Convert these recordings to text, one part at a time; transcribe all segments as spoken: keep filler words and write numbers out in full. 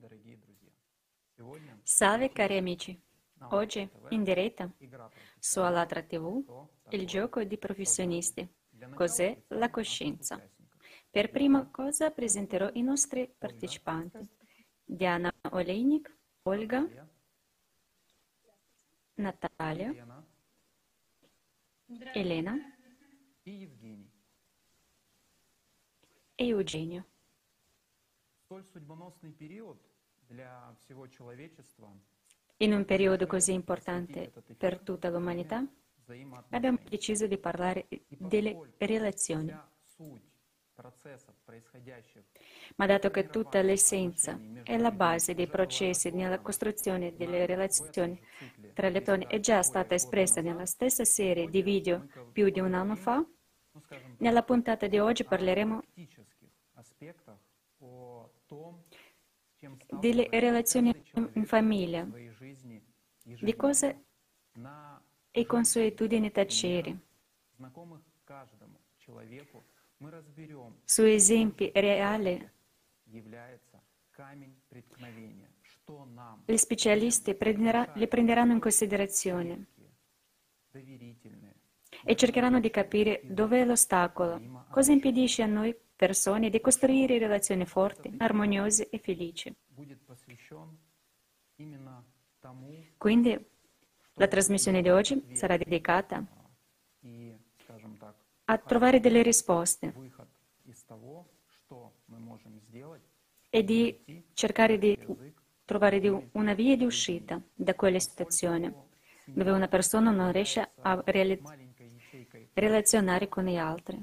Salve cari amici, oggi in diretta su Allatra tivù il gioco di professionisti. Cos'è la coscienza? Per prima cosa presenterò i nostri partecipanti. Diana Olejnik, Olga, Natalia, Elena e Eugenio. In un periodo così importante per tutta l'umanità, abbiamo deciso di parlare delle relazioni. Ma dato che tutta l'essenza e la base dei processi nella costruzione delle relazioni tra le persone è già stata espressa nella stessa serie di video più di un anno fa, nella puntata di oggi parleremo delle relazioni in famiglia, di cose e consuetudini tacere, su esempi reali. Gli specialisti prenderà, li prenderanno in considerazione e cercheranno di capire dov'è l'ostacolo, cosa impedisce a noi persone di costruire relazioni forti, armoniose e felici. Quindi la trasmissione di oggi sarà dedicata a trovare delle risposte e di cercare di trovare di una via di uscita da quella situazione dove una persona non riesce a reali- relazionare con gli altri.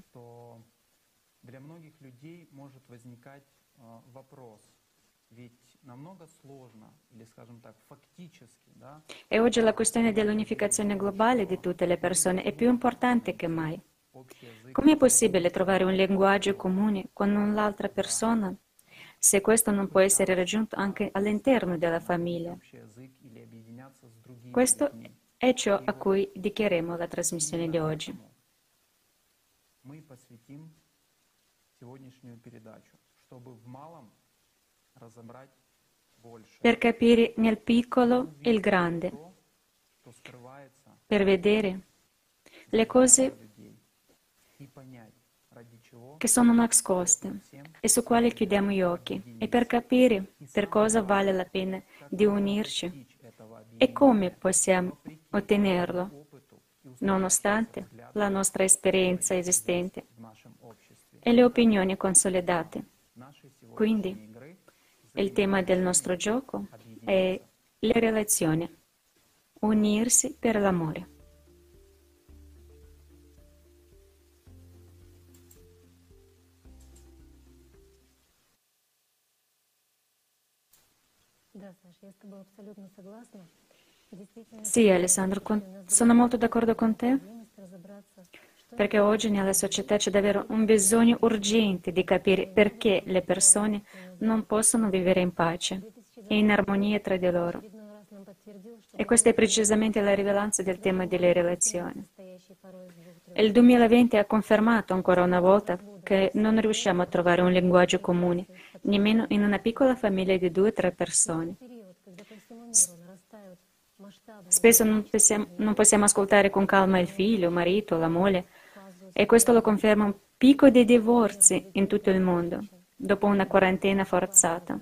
E oggi la questione dell'unificazione globale di tutte le persone è più importante che mai. Come è possibile trovare un linguaggio comune con un'altra persona se questo non può essere raggiunto anche all'interno della famiglia? Questo è ciò a cui dedicheremo la trasmissione di oggi. Per capire nel piccolo il grande, per vedere le cose che sono nascoste e su quali chiudiamo gli occhi, e per capire per cosa vale la pena di unirci e come possiamo ottenerlo, nonostante la nostra esperienza esistente e le opinioni consolidate. Quindi, il tema del nostro gioco è le relazioni, unirsi per l'amore. Sì, Alessandro, con- sono molto d'accordo con te, perché oggi nella società c'è davvero un bisogno urgente di capire perché le persone non possono vivere in pace e in armonia tra di loro. E questa è precisamente la rilevanza del tema delle relazioni. Il duemilaventi ha confermato ancora una volta che non riusciamo a trovare un linguaggio comune, nemmeno in una piccola famiglia di due o tre persone. Spesso non possiamo, non possiamo ascoltare con calma il figlio, il marito, la moglie, e questo lo conferma un picco di divorzi in tutto il mondo, dopo una quarantena forzata.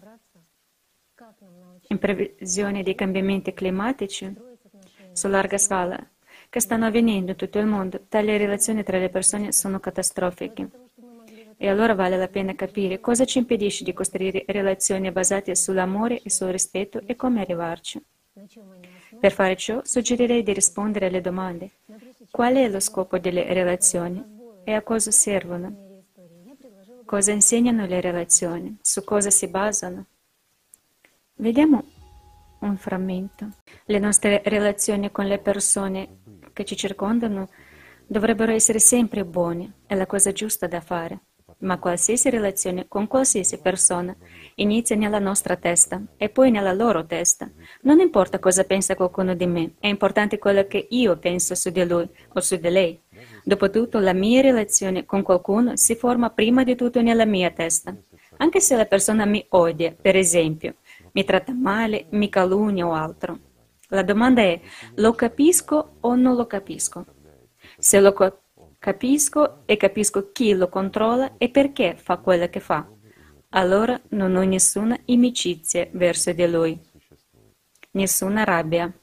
In previsione dei cambiamenti climatici su larga scala che stanno avvenendo in tutto il mondo, tali relazioni tra le persone sono catastrofiche. E allora vale la pena capire cosa ci impedisce di costruire relazioni basate sull'amore e sul rispetto e come arrivarci. Per fare ciò, suggerirei di rispondere alle domande: qual è lo scopo delle relazioni e a cosa servono? Cosa insegnano le relazioni? Su cosa si basano? Vediamo un frammento. Le nostre relazioni con le persone che ci circondano dovrebbero essere sempre buone, è la cosa giusta da fare. Ma qualsiasi relazione con qualsiasi persona inizia nella nostra testa e poi nella loro testa. Non importa cosa pensa qualcuno di me, è importante quello che io penso su di lui o su di lei. Dopotutto, la mia relazione con qualcuno si forma prima di tutto nella mia testa. Anche se la persona mi odia, per esempio, mi tratta male, mi calunnia o altro. La domanda è: lo capisco o non lo capisco? Se lo co- capisco e capisco chi lo controlla e perché fa quello che fa, allora non ho nessuna inimicizia verso di lui, nessuna rabbia.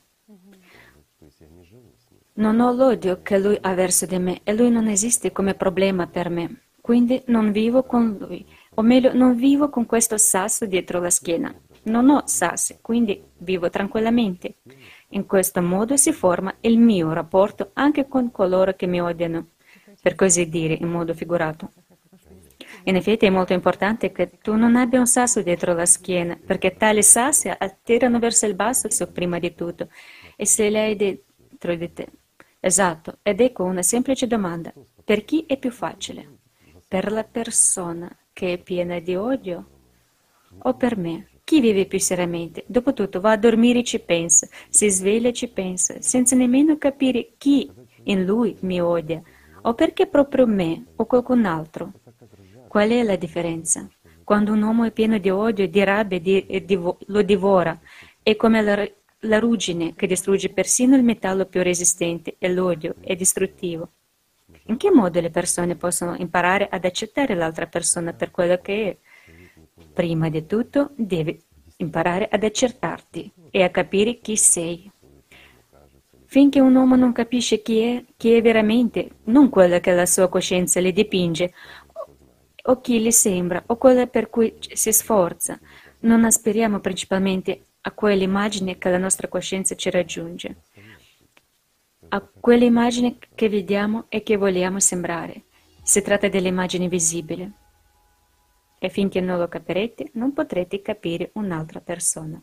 Non ho l'odio che lui ha verso di me e lui non esiste come problema per me. Quindi non vivo con lui, o meglio, non vivo con questo sasso dietro la schiena. Non ho sassi, quindi vivo tranquillamente. In questo modo si forma il mio rapporto anche con coloro che mi odiano, per così dire, in modo figurato. In effetti è molto importante che tu non abbia un sasso dietro la schiena, perché tali sassi attirano verso il basso prima di tutto, e se li hai dentro di te. Esatto, ed ecco una semplice domanda: per chi è più facile? Per la persona che è piena di odio o per me? Chi vive più seriamente? Dopotutto va a dormire e ci pensa, si sveglia e ci pensa, senza nemmeno capire chi in lui mi odia, o perché proprio me o qualcun altro. Qual è la differenza? Quando un uomo è pieno di odio, di rabbia, di, e divo- lo divora, è come la, la ruggine che distrugge persino il metallo più resistente, e l'odio è distruttivo. In che modo le persone possono imparare ad accettare l'altra persona per quello che è? Prima di tutto, devi imparare ad accettarti e a capire chi sei. Finché un uomo non capisce chi è, chi è veramente, non quello che la sua coscienza le dipinge, o chi le sembra, o quello per cui si sforza, non aspiriamo principalmente a quell'immagine che la nostra coscienza ci raggiunge, a quell'immagine che vediamo e che vogliamo sembrare. Si tratta dell'immagine visibile. E finché non lo capirete, non potrete capire un'altra persona.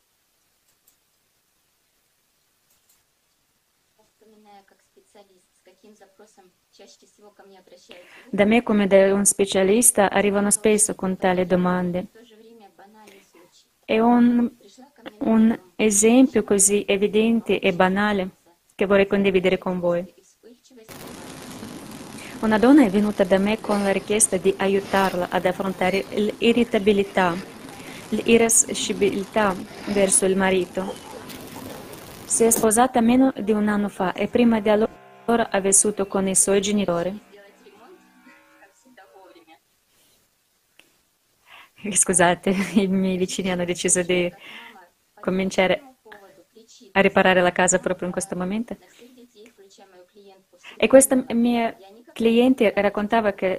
Da me come da un specialista arrivano spesso con tali domande. È un, un esempio così evidente e banale che vorrei condividere con voi. Una donna è venuta da me con la richiesta di aiutarla ad affrontare l'irritabilità, l'irascibilità verso il marito. Si è sposata meno di un anno fa e prima di allora ha vissuto con i suoi genitori. Scusate, i miei vicini hanno deciso di cominciare a riparare la casa proprio in questo momento. E questa mia cliente raccontava che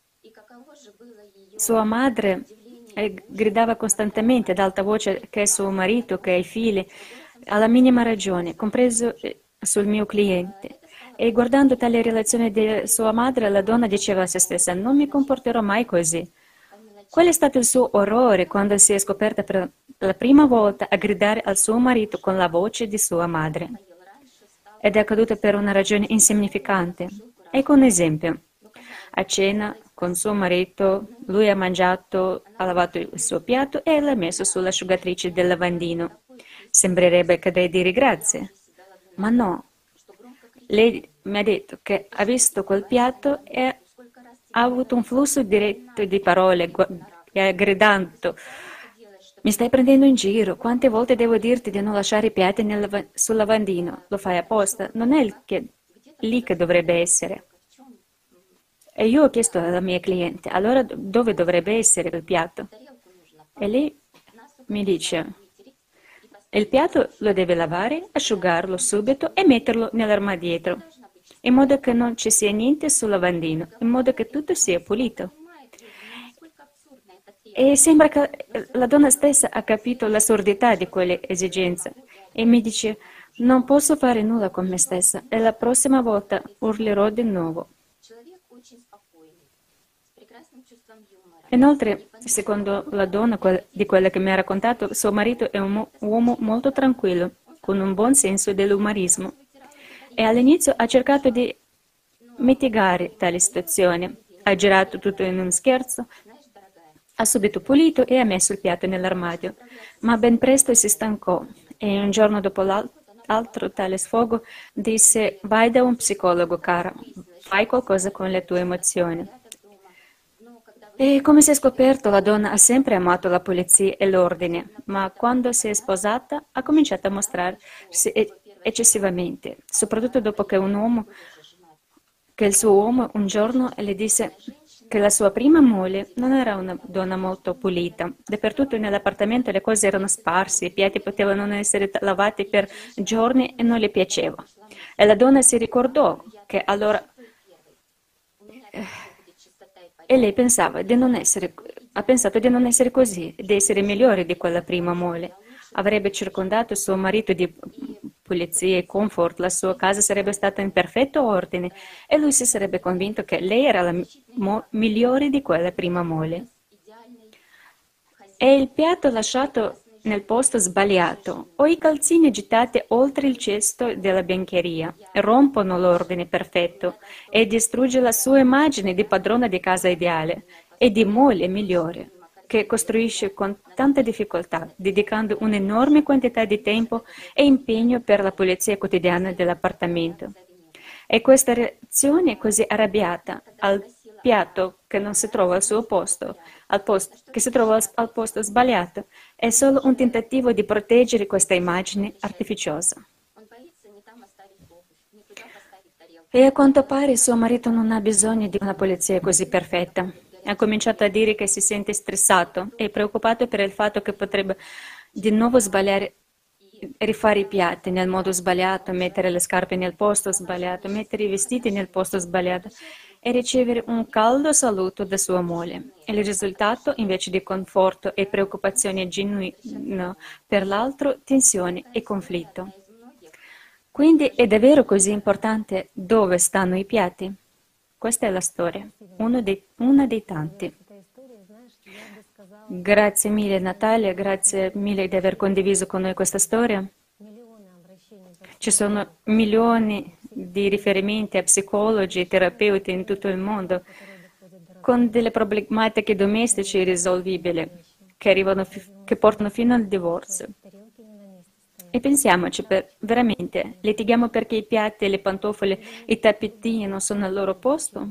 sua madre gridava costantemente ad alta voce che è suo marito, che ha i figli, alla minima ragione, compreso sul mio cliente. E guardando tale relazione di sua madre, la donna diceva a se stessa: non mi comporterò mai così. Qual è stato il suo orrore quando si è scoperta per la prima volta a gridare al suo marito con la voce di sua madre? Ed è accaduto per una ragione insignificante. Ecco un esempio. A cena con suo marito, lui ha mangiato, ha lavato il suo piatto e l'ha messo sull'asciugatrice del lavandino. Sembrerebbe che deve dire grazie, ma no. Lei mi ha detto che ha visto quel piatto e ha avuto un flusso diretto di parole, gridando: mi stai prendendo in giro? Quante volte devo dirti di non lasciare i piatti nel, sul lavandino? Lo fai apposta? Non è il che, lì che dovrebbe essere. E io ho chiesto alla mia cliente: allora dove dovrebbe essere il piatto? E lei mi dice: il piatto lo deve lavare, asciugarlo subito e metterlo nell'armadietro, in modo che non ci sia niente sul lavandino, in modo che tutto sia pulito. E sembra che la donna stessa ha capito l'assurdità di quelle esigenze e mi dice: non posso fare nulla con me stessa e la prossima volta urlerò di nuovo. Inoltre, secondo la donna di quella che mi ha raccontato, suo marito è un uomo molto tranquillo, con un buon senso dell'umorismo, e all'inizio ha cercato di mitigare tale situazione. Ha girato tutto in un scherzo, ha subito pulito e ha messo il piatto nell'armadio, ma ben presto si stancò e un giorno dopo l'altro tale sfogo disse: vai da un psicologo, cara, fai qualcosa con le tue emozioni. E come si è scoperto, la donna ha sempre amato la pulizia e l'ordine, ma quando si è sposata ha cominciato a mostrarsi e- eccessivamente, soprattutto dopo che un uomo, che il suo uomo un giorno le disse che la sua prima moglie non era una donna molto pulita. Dappertutto nell'appartamento le cose erano sparse, i piatti potevano non essere t- lavati per giorni e non le piaceva. E la donna si ricordò che allora e lei pensava di non essere, ha pensato di non essere così, di essere migliore di quella prima moglie. Avrebbe circondato suo marito di pulizia e comfort, la sua casa sarebbe stata in perfetto ordine e lui si sarebbe convinto che lei era la mo- migliore di quella prima moglie. È il piatto lasciato nel posto sbagliato o i calzini gettati oltre il cesto della biancheria rompono l'ordine perfetto e distrugge la sua immagine di padrona di casa ideale e di moglie migliore, che costruisce con tanta difficoltà, dedicando un'enorme quantità di tempo e impegno per la pulizia quotidiana dell'appartamento. E questa reazione così arrabbiata al piatto che non si trova al suo posto, al posto, che si trova al, al posto sbagliato, è solo un tentativo di proteggere questa immagine artificiosa. E a quanto pare suo marito non ha bisogno di una pulizia così perfetta. Ha cominciato a dire che si sente stressato e preoccupato per il fatto che potrebbe di nuovo sbagliare, rifare i piatti nel modo sbagliato, mettere le scarpe nel posto sbagliato, mettere i vestiti nel posto sbagliato e ricevere un caldo saluto da sua moglie. E il risultato, invece di conforto e preoccupazione genuina per l'altro, tensione e conflitto. Quindi è davvero così importante dove stanno i piatti? Questa è la storia, uno dei, una dei tanti. Grazie mille Natalia, grazie mille di aver condiviso con noi questa storia. Ci sono milioni di riferimenti a psicologi e terapeuti in tutto il mondo con delle problematiche domestiche irrisolvibili che, arrivano fi- che portano fino al divorzio. E pensiamoci, per, veramente, litighiamo perché i piatti, le pantofole, i tappetini non sono al loro posto?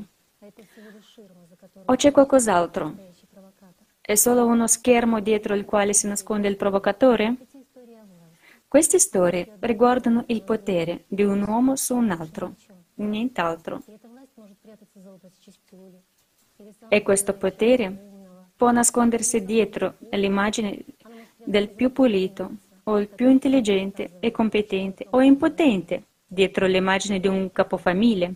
O c'è qualcos'altro? È solo uno schermo dietro il quale si nasconde il provocatore? Queste storie riguardano il potere di un uomo su un altro, nient'altro. E questo potere può nascondersi dietro l'immagine del più pulito, o il più intelligente e competente, o impotente, dietro l'immagine di un capofamiglia.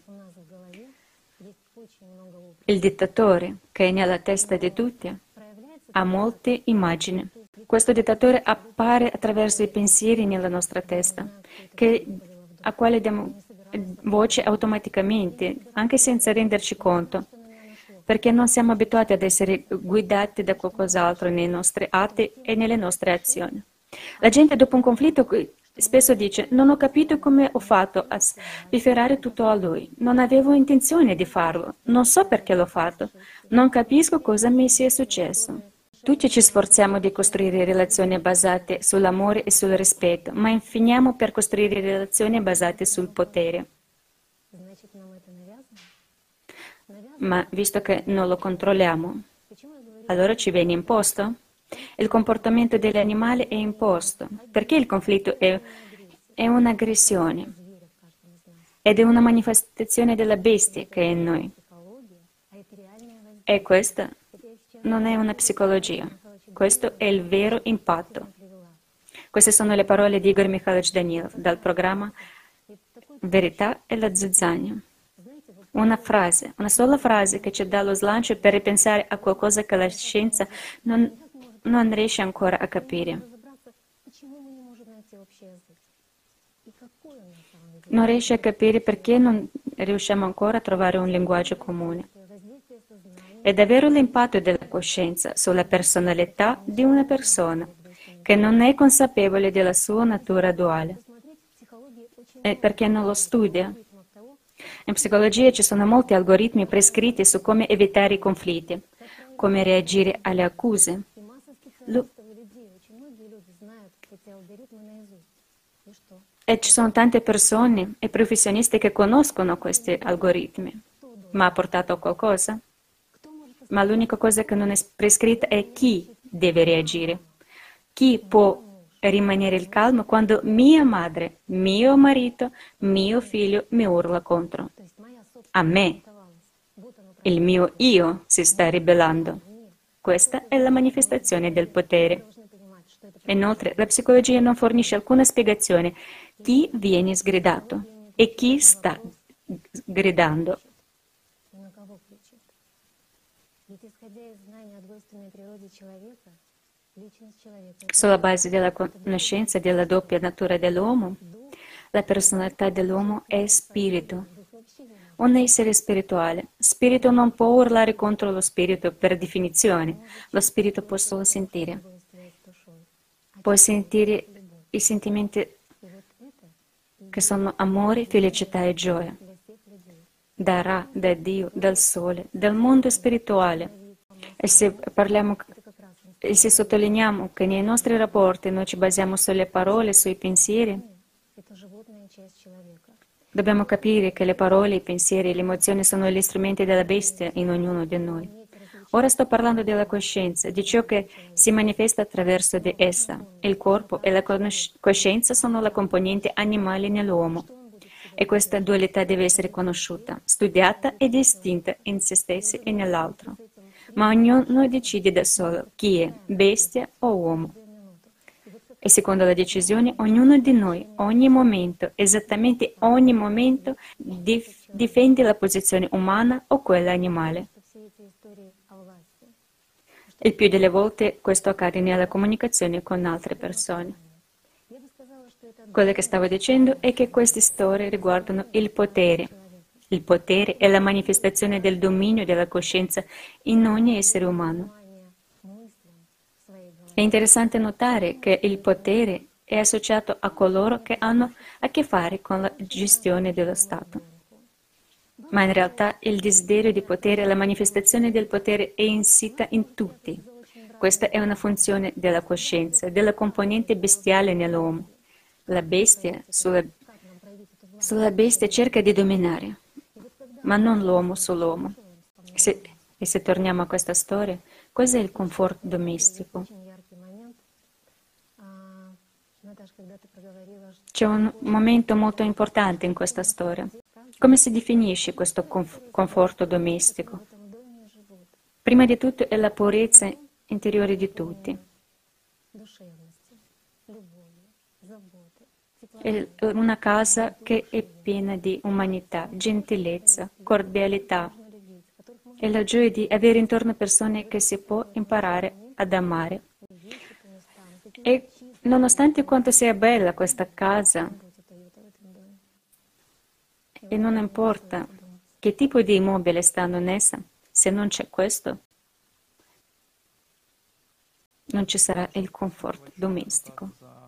Il dittatore, che è nella testa di tutti, ha molte immagini. Questo dittatore appare attraverso i pensieri nella nostra testa, che, a quale diamo voce automaticamente, anche senza renderci conto, perché non siamo abituati ad essere guidati da qualcos'altro nei nostri atti e nelle nostre azioni. La gente dopo un conflitto spesso dice: non ho capito come ho fatto a spifferare tutto a lui, non avevo intenzione di farlo, non so perché l'ho fatto, non capisco cosa mi sia successo. Tutti ci sforziamo di costruire relazioni basate sull'amore e sul rispetto, ma finiamo per costruire relazioni basate sul potere. Ma visto che non lo controlliamo, allora ci viene imposto? Il comportamento degli animali è imposto, perché il conflitto è, è un'aggressione ed è una manifestazione della bestia che è in noi. E questa non è una psicologia, questo è il vero impatto. Queste sono le parole di Igor Mikhailovich Danilov dal programma Verità e la zizzania. Una frase, una sola frase che ci dà lo slancio per ripensare a qualcosa che la scienza non, non riesce ancora a capire. Non riesce a capire perché non riusciamo ancora a trovare un linguaggio comune. È davvero l'impatto della coscienza sulla personalità di una persona che non è consapevole della sua natura duale e perché non lo studia. In psicologia ci sono molti algoritmi prescritti su come evitare i conflitti, come reagire alle accuse. Lu- E ci sono tante persone e professionisti che conoscono questi algoritmi. Ma ha portato a qualcosa? ma l'unica cosa che non è prescritta è chi deve reagire. Chi può rimanere calmo quando mia madre, mio marito, mio figlio mi urla contro. A me, il mio io si sta ribellando. Questa è la manifestazione del potere. Inoltre, la psicologia non fornisce alcuna spiegazione chi viene sgridato e chi sta gridando. Sulla base della conoscenza della doppia natura dell'uomo, la personalità dell'uomo è spirito, un essere spirituale. Spirito non può urlare contro lo spirito per definizione, lo spirito può solo sentire. Può sentire i sentimenti che sono amore, felicità e gioia. Da Ra, da Dio, dal Sole, dal mondo spirituale. E se parliamo e se sottolineiamo che nei nostri rapporti noi ci basiamo sulle parole, sui pensieri, dobbiamo capire che le parole, i pensieri e le emozioni sono gli strumenti della bestia in ognuno di noi. Ora sto parlando della coscienza, di ciò che si manifesta attraverso di essa. Il corpo e la coscienza sono la componente animale nell'uomo. E questa dualità deve essere conosciuta, studiata e distinta in se stessi e nell'altro. Ma ognuno decide da solo chi è, bestia o uomo. E secondo la decisione, ognuno di noi, ogni momento, esattamente ogni momento, dif- difende la posizione umana o quella animale. Il più delle volte questo accade nella comunicazione con altre persone. Quello che stavo dicendo è che queste storie riguardano il potere. Il potere è la manifestazione del dominio della coscienza in ogni essere umano. È interessante notare che il potere è associato a coloro che hanno a che fare con la gestione dello Stato. Ma in realtà il desiderio di potere, la manifestazione del potere è insita in tutti. Questa è una funzione della coscienza, della componente bestiale nell'uomo. La bestia sulla, sulla bestia cerca di dominare, ma non l'uomo sull'uomo. Se, e se torniamo a questa storia, cos'è il comfort domestico? C'è un momento molto importante in questa storia. Come si definisce questo conf- conforto domestico? Prima di tutto è la purezza interiore di tutti. È una casa che è piena di umanità, gentilezza, cordialità e la gioia di avere intorno persone che si può imparare ad amare. E nonostante quanto sia bella questa casa, e non importa che tipo di immobile stanno in essa, se non c'è questo, non ci sarà il comfort domestico.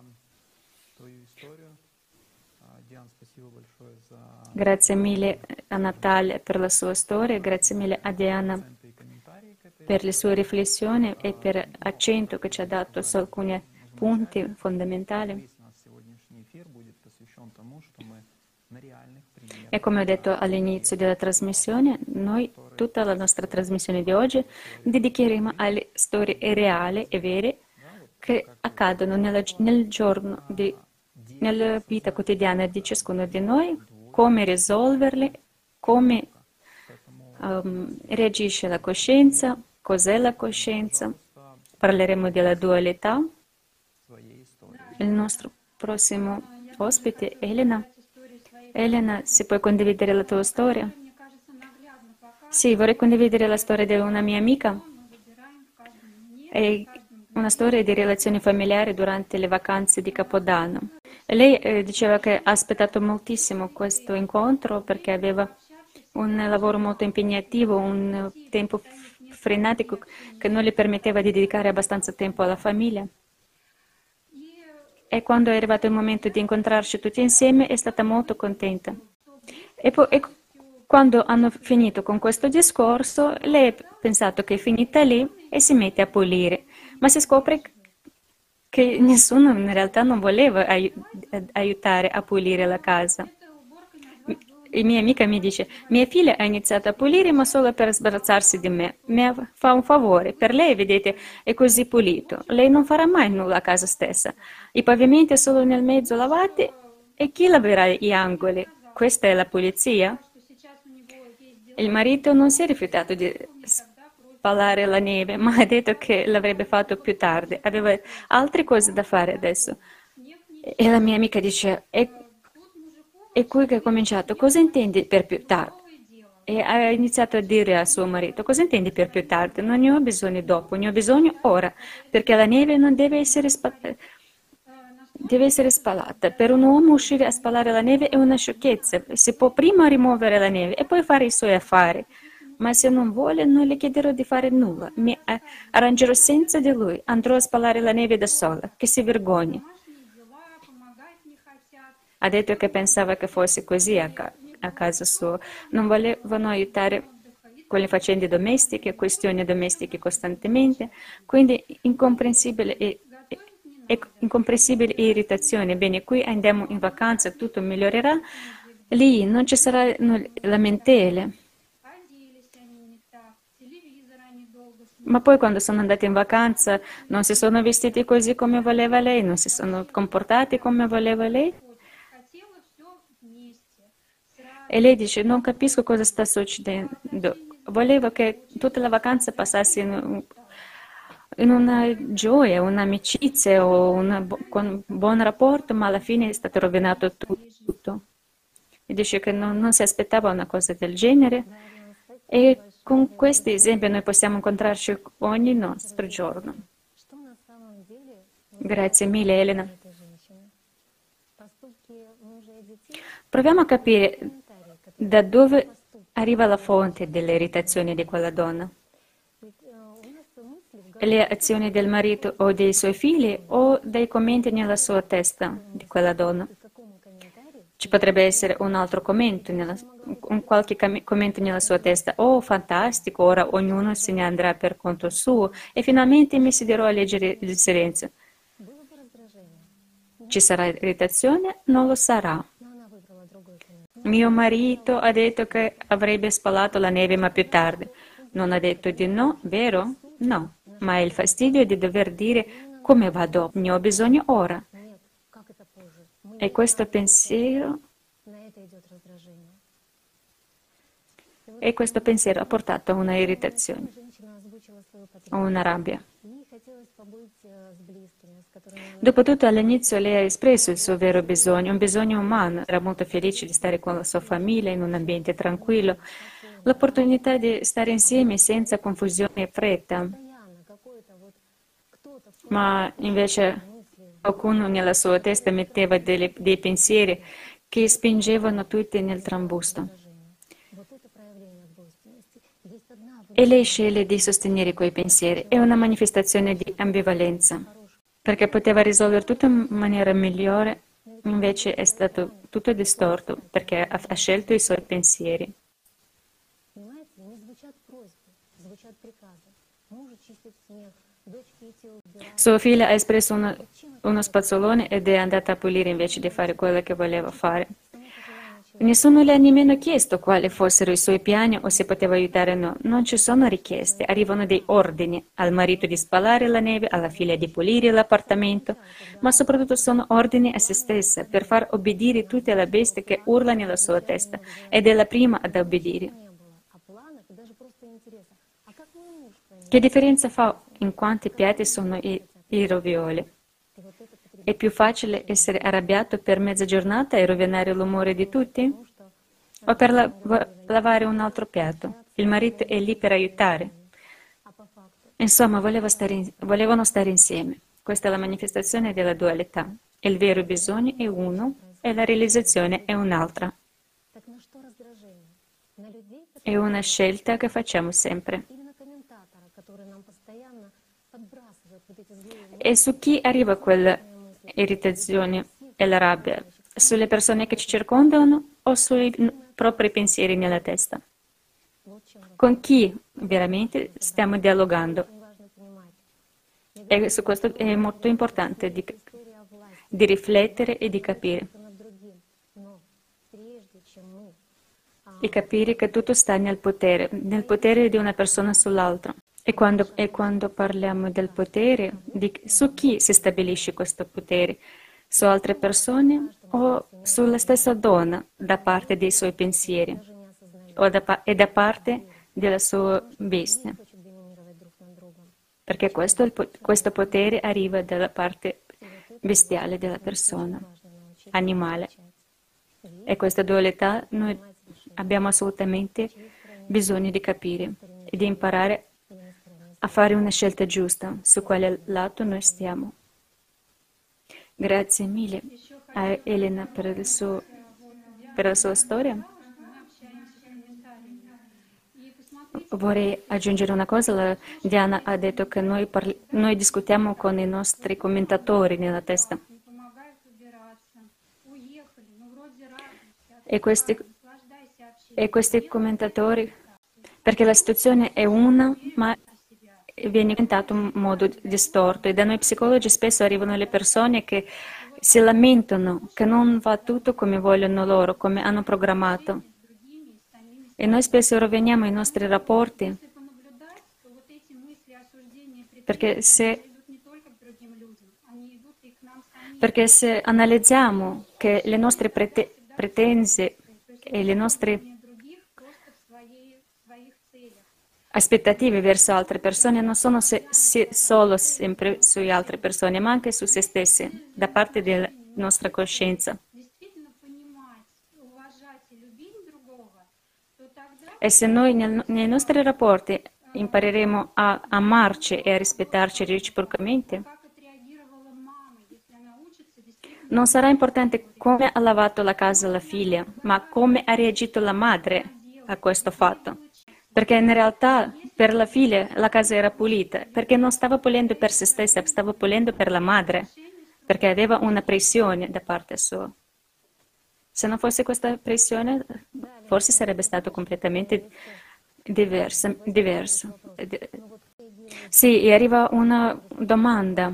Grazie mille a Natalia per la sua storia, grazie mille a Diana per le sue riflessioni e per l'accento che ci ha dato su alcuni punti fondamentali. E come ho detto all'inizio della trasmissione, noi tutta la nostra trasmissione di oggi dedicheremo alle storie reali e vere che accadono nella, nel giorno di, nella vita quotidiana di ciascuno di noi, come risolverle, come um, reagisce la coscienza, cos'è la coscienza, parleremo della dualità. Il nostro prossimo ospite è Elena. Elena, se puoi condividere la tua storia? Sì, vorrei condividere la storia di una mia amica. È una storia di relazioni familiari durante le vacanze di Capodanno. E lei eh, diceva che ha aspettato moltissimo questo incontro perché aveva un lavoro molto impegnativo, un tempo frenetico che non le permetteva di dedicare abbastanza tempo alla famiglia. E quando è arrivato il momento di incontrarci tutti insieme è stata molto contenta. E, poi, e quando hanno finito con questo discorso, lei ha pensato che è finita lì e si mette a pulire, ma si scopre che nessuno in realtà non voleva ai- aiutare a pulire la casa. e mia amica mi dice, mia figlia ha iniziato a pulire ma solo per sbarazzarsi di me. Mi fa un favore, per lei, vedete, è così pulito. Lei non farà mai nulla a casa stessa. I pavimenti solo nel mezzo lavati e chi laverà gli angoli? Questa è la pulizia? Il marito non si è rifiutato di spalare la neve, ma ha detto che l'avrebbe fatto più tardi. Aveva altre cose da fare adesso. E la mia amica dice, è, è qui che ha cominciato, cosa intendi per più tardi? E ha iniziato a dire a suo marito, cosa intendi per più tardi? Non ne ho bisogno dopo, ne ho bisogno ora, perché la neve non deve essere, spa- deve essere spalata. Per un uomo uscire a spalare la neve è una sciocchezza. Si può prima rimuovere la neve e poi fare i suoi affari. Ma se non vuole, non le chiederò di fare nulla. Mi eh, arrangerò senza di lui. Andrò a spalare la neve da sola. Che si vergogni. Ha detto che pensava che fosse così a, ca- a casa sua. Non volevano aiutare con le faccende domestiche, questioni domestiche costantemente, quindi incomprensibile e, e- e- incomprensibile e irritazione. Bene, qui andiamo in vacanza, tutto migliorerà. Lì non ci sarà no, lamentele. Ma poi quando sono andati in vacanza non si sono vestiti così come voleva lei, non si sono comportati come voleva lei. E lei dice, non capisco cosa sta succedendo. Volevo che tutta la vacanza passasse in, in una gioia, un'amicizia o una, con un buon rapporto, ma alla fine è stato rovinato tutto. E dice che non, non si aspettava una cosa del genere. E con questi esempi noi possiamo incontrarci ogni nostro giorno. Grazie mille, Elena. Proviamo a capire da dove arriva la fonte delle irritazioni di quella donna. Le azioni del marito o dei suoi figli o dai commenti nella sua testa di quella donna. Ci potrebbe essere un altro commento, nella, un qualche commento nella sua testa. Oh, fantastico, ora ognuno se ne andrà per conto suo e finalmente mi siederò a leggere il silenzio. Ci sarà irritazione? Non lo sarà. Mio marito ha detto che avrebbe spalato la neve ma più tardi. Non ha detto di no, vero? No, ma è il fastidio di dover dire come va dopo, ne ho bisogno ora. E questo pensiero, e questo pensiero ha portato a una irritazione, a una rabbia. Dopotutto all'inizio lei ha espresso il suo vero bisogno, un bisogno umano, era molto felice di stare con la sua famiglia in un ambiente tranquillo, l'opportunità di stare insieme senza confusione e fretta. Ma invece qualcuno nella sua testa metteva delle, dei pensieri che spingevano tutti nel trambusto. E lei sceglie di sostenere quei pensieri. È una manifestazione di ambivalenza, perché poteva risolvere tutto in maniera migliore, invece è stato tutto distorto, perché ha, ha scelto i suoi pensieri. Sua figlia ha espresso uno, uno spazzolone ed è andata a pulire invece di fare quello che voleva fare. Nessuno le ha nemmeno chiesto quali fossero i suoi piani o se poteva aiutare o no. Non ci sono richieste, arrivano dei ordini al marito di spalare la neve, alla figlia di pulire l'appartamento, ma soprattutto sono ordini a se stessa per far obbedire tutte le bestie che urla nella sua testa ed è la prima ad obbedire. Che differenza fa in quanti piatti sono i, i ravioli? È più facile essere arrabbiato per mezza giornata e rovinare l'umore di tutti? O per la- lavare un altro piatto? Il marito è lì per aiutare. Insomma, volevo stare in- volevano stare insieme. Questa è la manifestazione della dualità. Il vero bisogno è uno e la realizzazione è un'altra. È una scelta che facciamo sempre. E su chi arriva quella irritazione e la rabbia? Sulle persone che ci circondano o sui propri pensieri nella testa? Con chi veramente stiamo dialogando? E su questo è molto importante di, di riflettere e di capire. e capire che tutto sta nel potere, nel potere di una persona sull'altra. E quando, e quando parliamo del potere, di, su chi si stabilisce questo potere? Su altre persone o sulla stessa donna da parte dei suoi pensieri o da, e da parte della sua bestia? Perché questo, questo potere arriva dalla parte bestiale della persona, animale. E questa dualità noi abbiamo assolutamente bisogno di capire e di imparare a fare una scelta giusta su quale lato noi stiamo. Grazie mille a Elena per, il suo, per la sua storia. Vorrei aggiungere una cosa, la Diana ha detto che noi, parli, noi discutiamo con i nostri commentatori nella testa. E questi, e questi commentatori, perché la situazione è una, ma viene presentato in modo distorto. E da noi psicologi spesso arrivano le persone che si lamentano, che non va tutto come vogliono loro, come hanno programmato. E noi spesso roviniamo i nostri rapporti perché se, perché se analizziamo che le nostre prete, pretenze e le nostre aspettative verso altre persone non sono se, se, solo sempre su altre persone, ma anche su se stesse, da parte della nostra coscienza. E se noi nel, nei nostri rapporti impareremo a amarci e a rispettarci reciprocamente, non sarà importante come ha lavato la casa la figlia, ma come ha reagito la madre a questo fatto. Perché in realtà per la figlia la casa era pulita, perché non stava pulendo per se stessa, stava pulendo per la madre, perché aveva una pressione da parte sua. Se non fosse questa pressione, forse sarebbe stato completamente diverso. diverso. Sì, e arriva una domanda.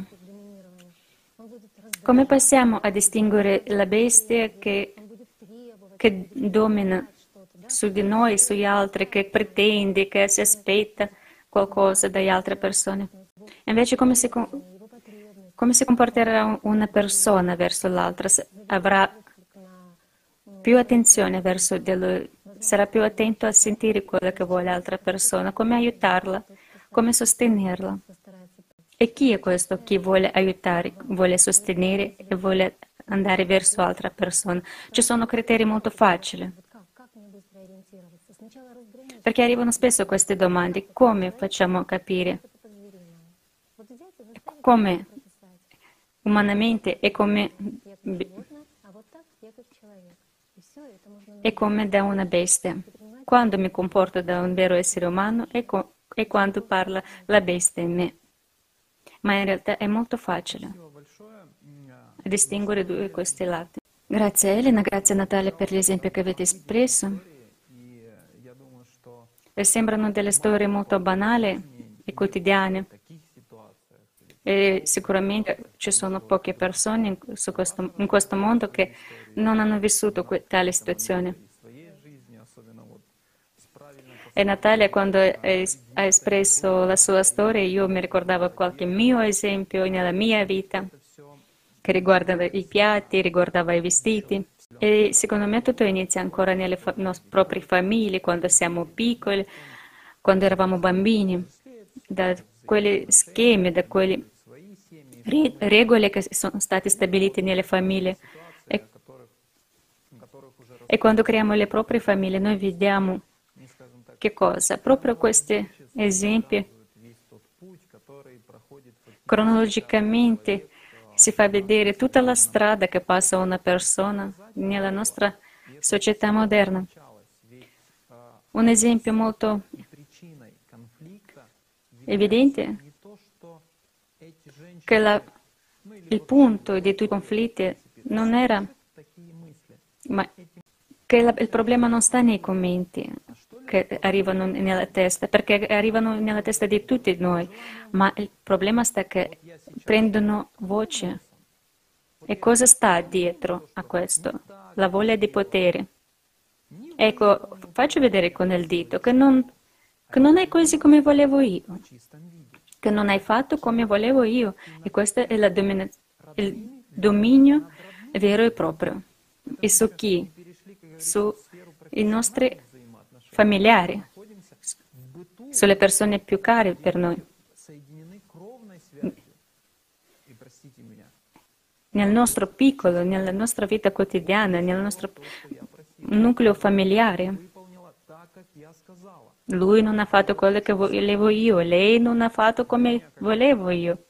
Come possiamo a distinguere la bestia che, che domina su di noi, sugli altri, che pretende, che si aspetta qualcosa dalle altre persone? Invece come si, come si comporterà una persona verso l'altra? Avrà più attenzione verso di lui, sarà più attento a sentire quello che vuole l'altra persona, come aiutarla, come sostenerla. E chi è questo che vuole aiutare, vuole sostenere e vuole andare verso l'altra persona? Ci sono criteri molto facili. Perché arrivano spesso queste domande, come facciamo capire? Come umanamente e come, e come da una bestia. Quando mi comporto da un vero essere umano e, co- e quando parla la bestia in me. Ma in realtà è molto facile distinguere due questi lati. Grazie Elena, grazie Natalia per l'esempio che avete espresso. E sembrano delle storie molto banali e quotidiane. E sicuramente ci sono poche persone in questo, in questo mondo che non hanno vissuto tale situazione. E Natalia, quando ha espresso la sua storia, io mi ricordavo qualche mio esempio nella mia vita, che riguardava i piatti, riguardava i vestiti. E secondo me tutto inizia ancora nelle fa- nostre proprie famiglie, quando siamo piccoli, quando eravamo bambini, da quegli schemi, da quelle re- regole che sono state stabilite nelle famiglie. E, e quando creiamo le proprie famiglie, noi vediamo che cosa? Proprio questi esempi, cronologicamente si fa vedere tutta la strada che passa una persona nella nostra società moderna. Un esempio molto evidente è che la, il punto di tutti i conflitti non era, ma che la, il problema non sta nei commenti che arrivano nella testa, perché arrivano nella testa di tutti noi, ma il problema sta che prendono voce. E cosa sta dietro a questo? La voglia di potere. Ecco, faccio vedere con il dito che non, che non è così come volevo io, che non hai fatto come volevo io. E questo è la domina- il dominio vero e proprio. E su chi? Sui nostri familiari, sulle persone più care per noi. Nel nostro piccolo, nella nostra vita quotidiana, nel nostro nucleo familiare. Lui non ha fatto quello che volevo io, lei non ha fatto come volevo io.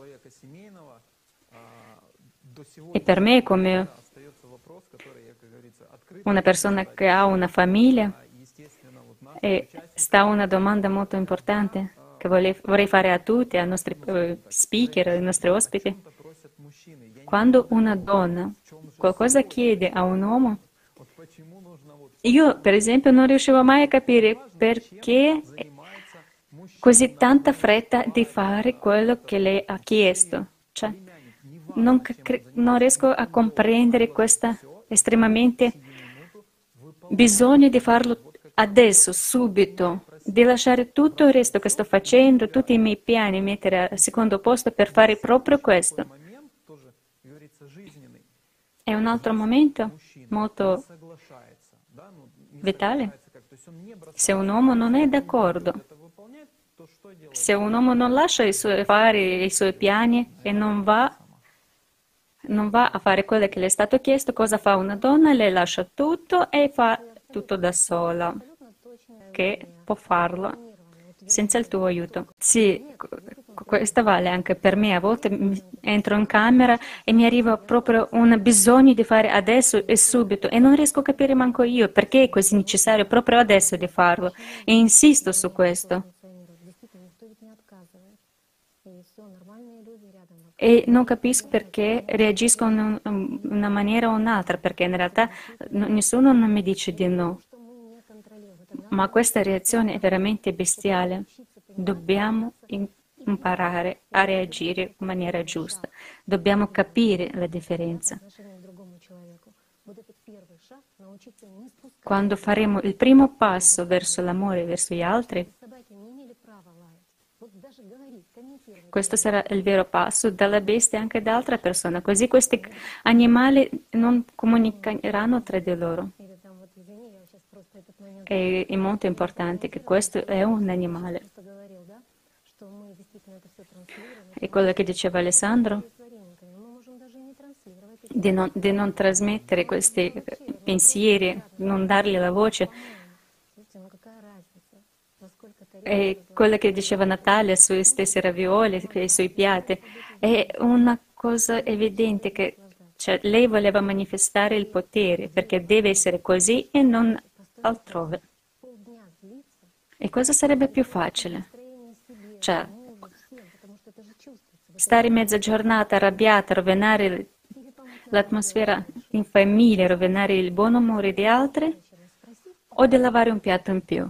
E per me, come una persona che ha una famiglia, e sta una domanda molto importante che vorrei fare a tutti, ai nostri speaker, ai nostri ospiti. Quando una donna qualcosa chiede a un uomo, io per esempio non riuscivo mai a capire perché così tanta fretta di fare quello che lei ha chiesto. Cioè, non, non riesco a comprendere questo estremamente bisogno di farlo adesso, subito, di lasciare tutto il resto che sto facendo, tutti i miei piani, mettere al secondo posto per fare proprio questo. È un altro momento molto vitale. Se un uomo non è d'accordo, se un uomo non lascia i suoi affari, i suoi piani e non va, non va a fare quello che le è stato chiesto, cosa fa una donna? Lei lascia tutto e fa tutto da sola, che può farlo senza il tuo aiuto. Sì, questo vale anche per me. A volte entro in camera e mi arriva proprio un bisogno di fare adesso e subito e non riesco a capire manco io perché è così necessario proprio adesso di farlo e insisto su questo. E non capisco perché reagisco in una maniera o un'altra, perché in realtà nessuno non mi dice di no. Ma questa reazione è veramente bestiale. Dobbiamo imparare a reagire in maniera giusta. Dobbiamo capire la differenza. Quando faremo il primo passo verso l'amore verso gli altri, questo sarà il vero passo dalla bestia anche da altra persona, così questi animali non comunicheranno tra di loro. È, è molto importante che questo è un animale. E quello che diceva Alessandro, di non, di non trasmettere questi pensieri, non dargli la voce. E quello che diceva Natalia sui stessi ravioli, sui piatti, è una cosa evidente che cioè, lei voleva manifestare il potere perché deve essere così e non altrove. E cosa sarebbe più facile? Cioè, stare mezza giornata arrabbiata, rovinare l'atmosfera in famiglia, rovinare il buon umore di altri, o di lavare un piatto in più?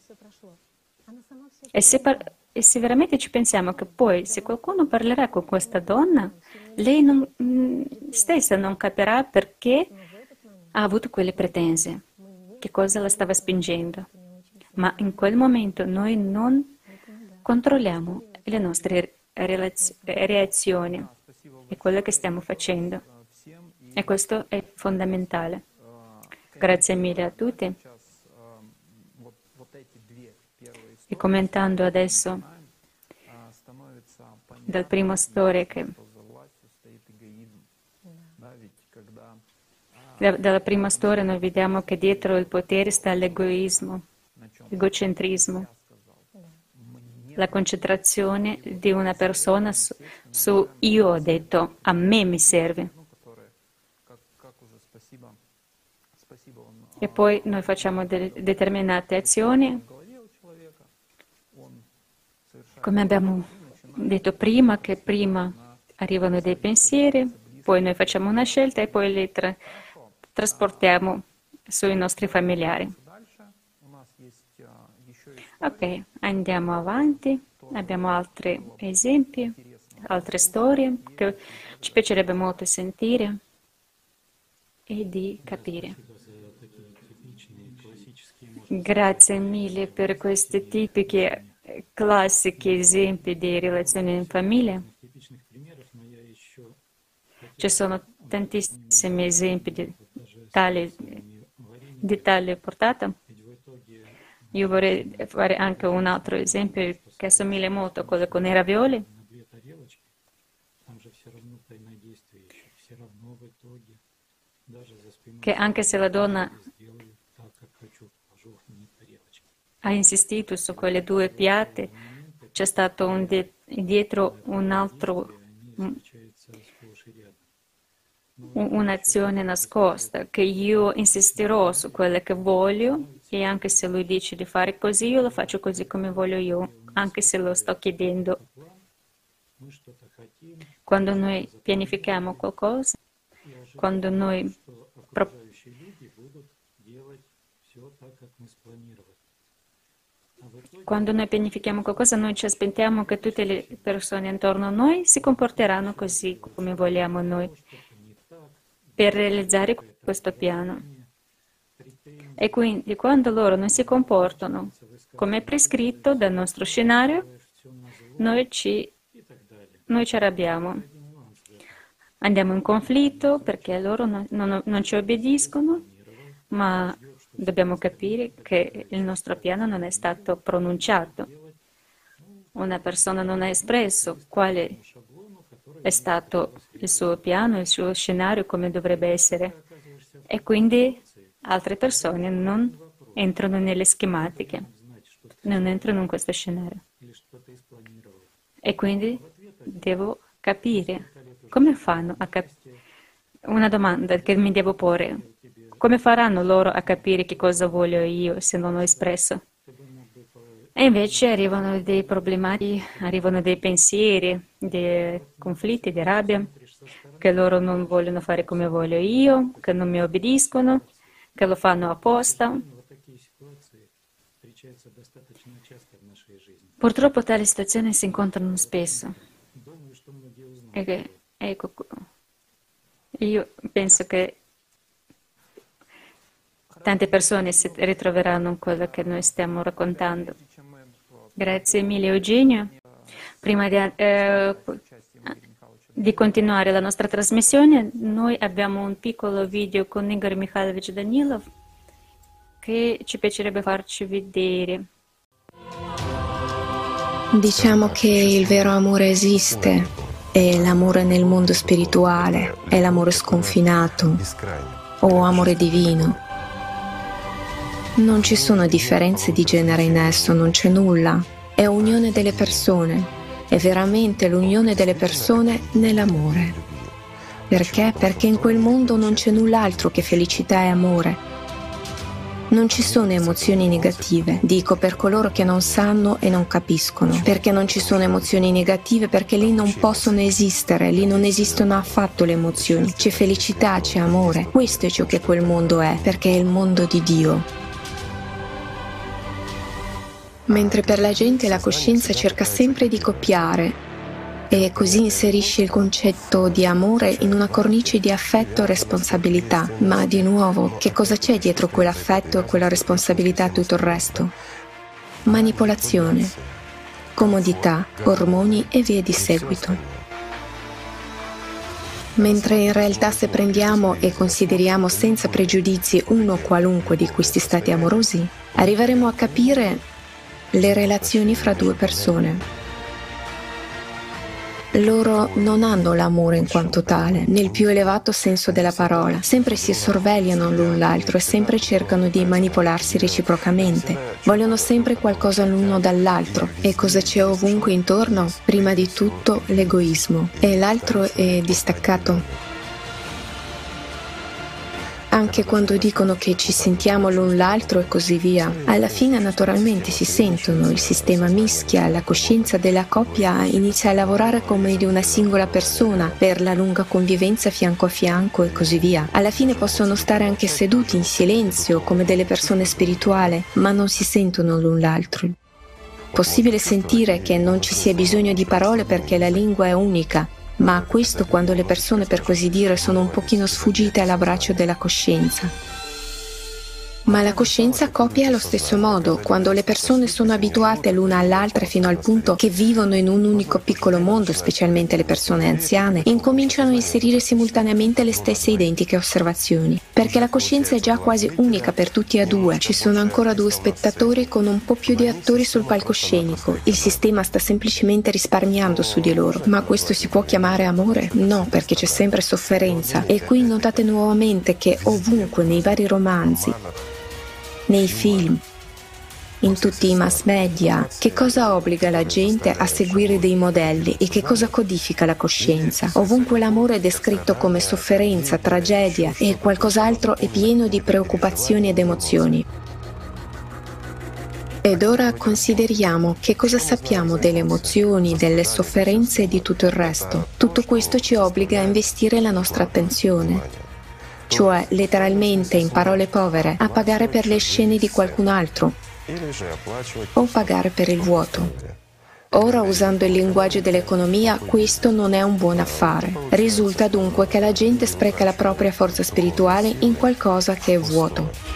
E se, par- e se veramente ci pensiamo che poi se qualcuno parlerà con questa donna, lei non, mh, stessa non capirà perché ha avuto quelle pretese, che cosa la stava spingendo. Ma in quel momento noi non controlliamo le nostre relaz- reazioni e quello che stiamo facendo. E questo è fondamentale. Grazie mille a tutti. E commentando adesso dal primo storia che dalla prima storia noi vediamo che dietro il potere sta l'egoismo, l'egocentrismo, la concentrazione di una persona su, su io ho detto, a me mi serve. E poi noi facciamo de- determinate azioni, come abbiamo detto prima, che prima arrivano dei pensieri, poi noi facciamo una scelta e poi li tra- trasportiamo sui nostri familiari. Ok, andiamo avanti. Abbiamo altri esempi, altre storie che ci piacerebbe molto sentire e di capire. Grazie mille per questi tipici, classici esempi di relazioni in famiglia. Ci sono tantissimi esempi di tale, di tale portata. Io vorrei fare anche un altro esempio che assomiglia molto a quello con i ravioli. Che anche se la donna ha insistito su quelle due piatti, c'è stato un di- dietro un altro, un- un'azione nascosta, che io insisterò su quello che voglio e anche se lui dice di fare così, io lo faccio così come voglio io, anche se lo sto chiedendo. Quando noi pianifichiamo qualcosa, quando noi pro- Quando noi pianifichiamo qualcosa, noi ci aspettiamo che tutte le persone intorno a noi si comporteranno così come vogliamo noi per realizzare questo piano. E quindi quando loro non si comportano come prescritto dal nostro scenario, noi ci, noi ci arrabbiamo. Andiamo in conflitto perché loro non, non- non ci obbediscono, ma dobbiamo capire che il nostro piano non è stato pronunciato. Una persona non ha espresso quale è stato il suo piano, il suo scenario, come dovrebbe essere. E quindi altre persone non entrano nelle schematiche, non entrano in questo scenario. E quindi devo capire come fanno a capire. Una domanda che mi devo porre. Come faranno loro a capire che cosa voglio io se non ho espresso? E invece arrivano dei problemi, arrivano dei pensieri, dei conflitti, di rabbia, che loro non vogliono fare come voglio io, che non mi obbediscono, che lo fanno apposta. Purtroppo tali situazioni si incontrano spesso. E che, ecco, io penso che tante persone si ritroveranno in quello che noi stiamo raccontando. Grazie mille Eugenio. Prima di, eh, di continuare la nostra trasmissione, noi abbiamo un piccolo video con Igor Mikhailovich Danilov che ci piacerebbe farci vedere. Diciamo che il vero amore esiste, è l'amore nel mondo spirituale, è l'amore sconfinato o amore divino. Non ci sono differenze di genere in esso, non c'è nulla, è unione delle persone, è veramente l'unione delle persone nell'amore. Perché? Perché in quel mondo non c'è null'altro che felicità e amore. Non ci sono emozioni negative, dico per coloro che non sanno e non capiscono, perché non ci sono emozioni negative, perché lì non possono esistere, lì non esistono affatto le emozioni, c'è felicità, c'è amore, questo è ciò che quel mondo è, perché è il mondo di Dio. Mentre per la gente la coscienza cerca sempre di copiare e così inserisce il concetto di amore in una cornice di affetto e responsabilità. Ma di nuovo, che cosa c'è dietro quell'affetto e quella responsabilità e tutto il resto? Manipolazione, comodità, ormoni e via di seguito. Mentre in realtà se prendiamo e consideriamo senza pregiudizi uno qualunque di questi stati amorosi, arriveremo a capire le relazioni fra due persone. Loro non hanno l'amore in quanto tale, nel più elevato senso della parola. Sempre si sorvegliano l'un l'altro e sempre cercano di manipolarsi reciprocamente. Vogliono sempre qualcosa l'uno dall'altro. E cosa c'è ovunque intorno? Prima di tutto l'egoismo. E l'altro è distaccato. Anche quando dicono che ci sentiamo l'un l'altro e così via, alla fine naturalmente si sentono, il sistema mischia, la coscienza della coppia inizia a lavorare come di una singola persona per la lunga convivenza fianco a fianco e così via. Alla fine possono stare anche seduti in silenzio come delle persone spirituali, ma non si sentono l'un l'altro. Possibile sentire che non ci sia bisogno di parole perché la lingua è unica, ma questo quando le persone, per così dire, sono un pochino sfuggite all'abbraccio della coscienza. Ma la coscienza copia allo stesso modo. Quando le persone sono abituate l'una all'altra fino al punto che vivono in un unico piccolo mondo, specialmente le persone anziane, incominciano a inserire simultaneamente le stesse identiche osservazioni. Perché la coscienza è già quasi unica per tutti e due. Ci sono ancora due spettatori con un po' più di attori sul palcoscenico. Il sistema sta semplicemente risparmiando su di loro. Ma questo si può chiamare amore? No, perché c'è sempre sofferenza. E qui notate nuovamente che ovunque nei vari romanzi, nei film, in tutti i mass media, che cosa obbliga la gente a seguire dei modelli e che cosa codifica la coscienza? Ovunque l'amore è descritto come sofferenza, tragedia e qualcos'altro è pieno di preoccupazioni ed emozioni. Ed ora consideriamo che cosa sappiamo delle emozioni, delle sofferenze e di tutto il resto. Tutto questo ci obbliga a investire la nostra attenzione. Cioè, letteralmente, in parole povere, a pagare per le scene di qualcun altro o pagare per il vuoto. Ora, usando il linguaggio dell'economia, questo non è un buon affare. Risulta dunque che la gente spreca la propria forza spirituale in qualcosa che è vuoto.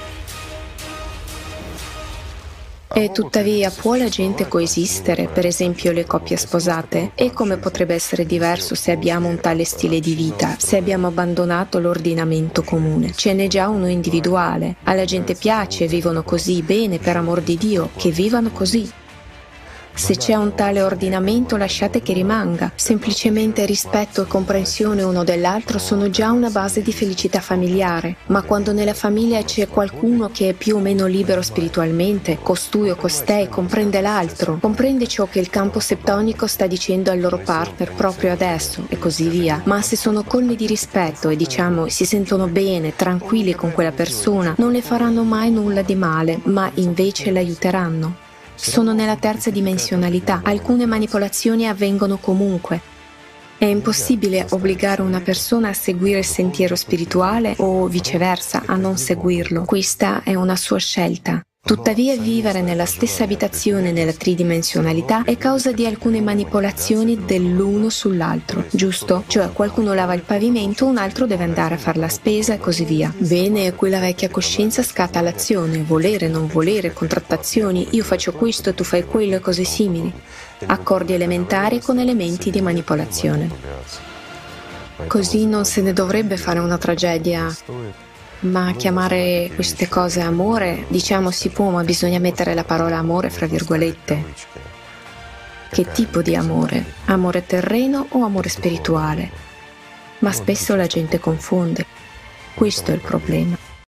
E tuttavia, può la gente coesistere, per esempio le coppie sposate? E come potrebbe essere diverso se abbiamo un tale stile di vita, se abbiamo abbandonato l'ordinamento comune? Ce n'è già uno individuale. Alla gente piace, vivono così, bene, per amor di Dio, che vivano così. Se c'è un tale ordinamento, lasciate che rimanga. Semplicemente rispetto e comprensione uno dell'altro sono già una base di felicità familiare. Ma quando nella famiglia c'è qualcuno che è più o meno libero spiritualmente, costui o costei comprende l'altro, comprende ciò che il campo septonico sta dicendo al loro partner proprio adesso, e così via. Ma se sono colmi di rispetto e, diciamo, si sentono bene, tranquilli con quella persona, non le faranno mai nulla di male, ma invece l'aiuteranno. Sono nella terza dimensionalità. Alcune manipolazioni avvengono comunque. È impossibile obbligare una persona a seguire il sentiero spirituale o viceversa a non seguirlo. Questa è una sua scelta. Tuttavia, vivere nella stessa abitazione nella tridimensionalità è causa di alcune manipolazioni dell'uno sull'altro, giusto? Cioè, qualcuno lava il pavimento, un altro deve andare a fare la spesa e così via. Bene, quella vecchia coscienza scatta l'azione, volere, non volere, contrattazioni, io faccio questo, tu fai quello e cose simili. Accordi elementari con elementi di manipolazione. Così non se ne dovrebbe fare una tragedia. Ma chiamare queste cose amore, diciamo si può, ma bisogna mettere la parola amore fra virgolette. Che tipo di amore? Amore terreno o amore spirituale? Ma spesso la gente confonde. Questo è il problema.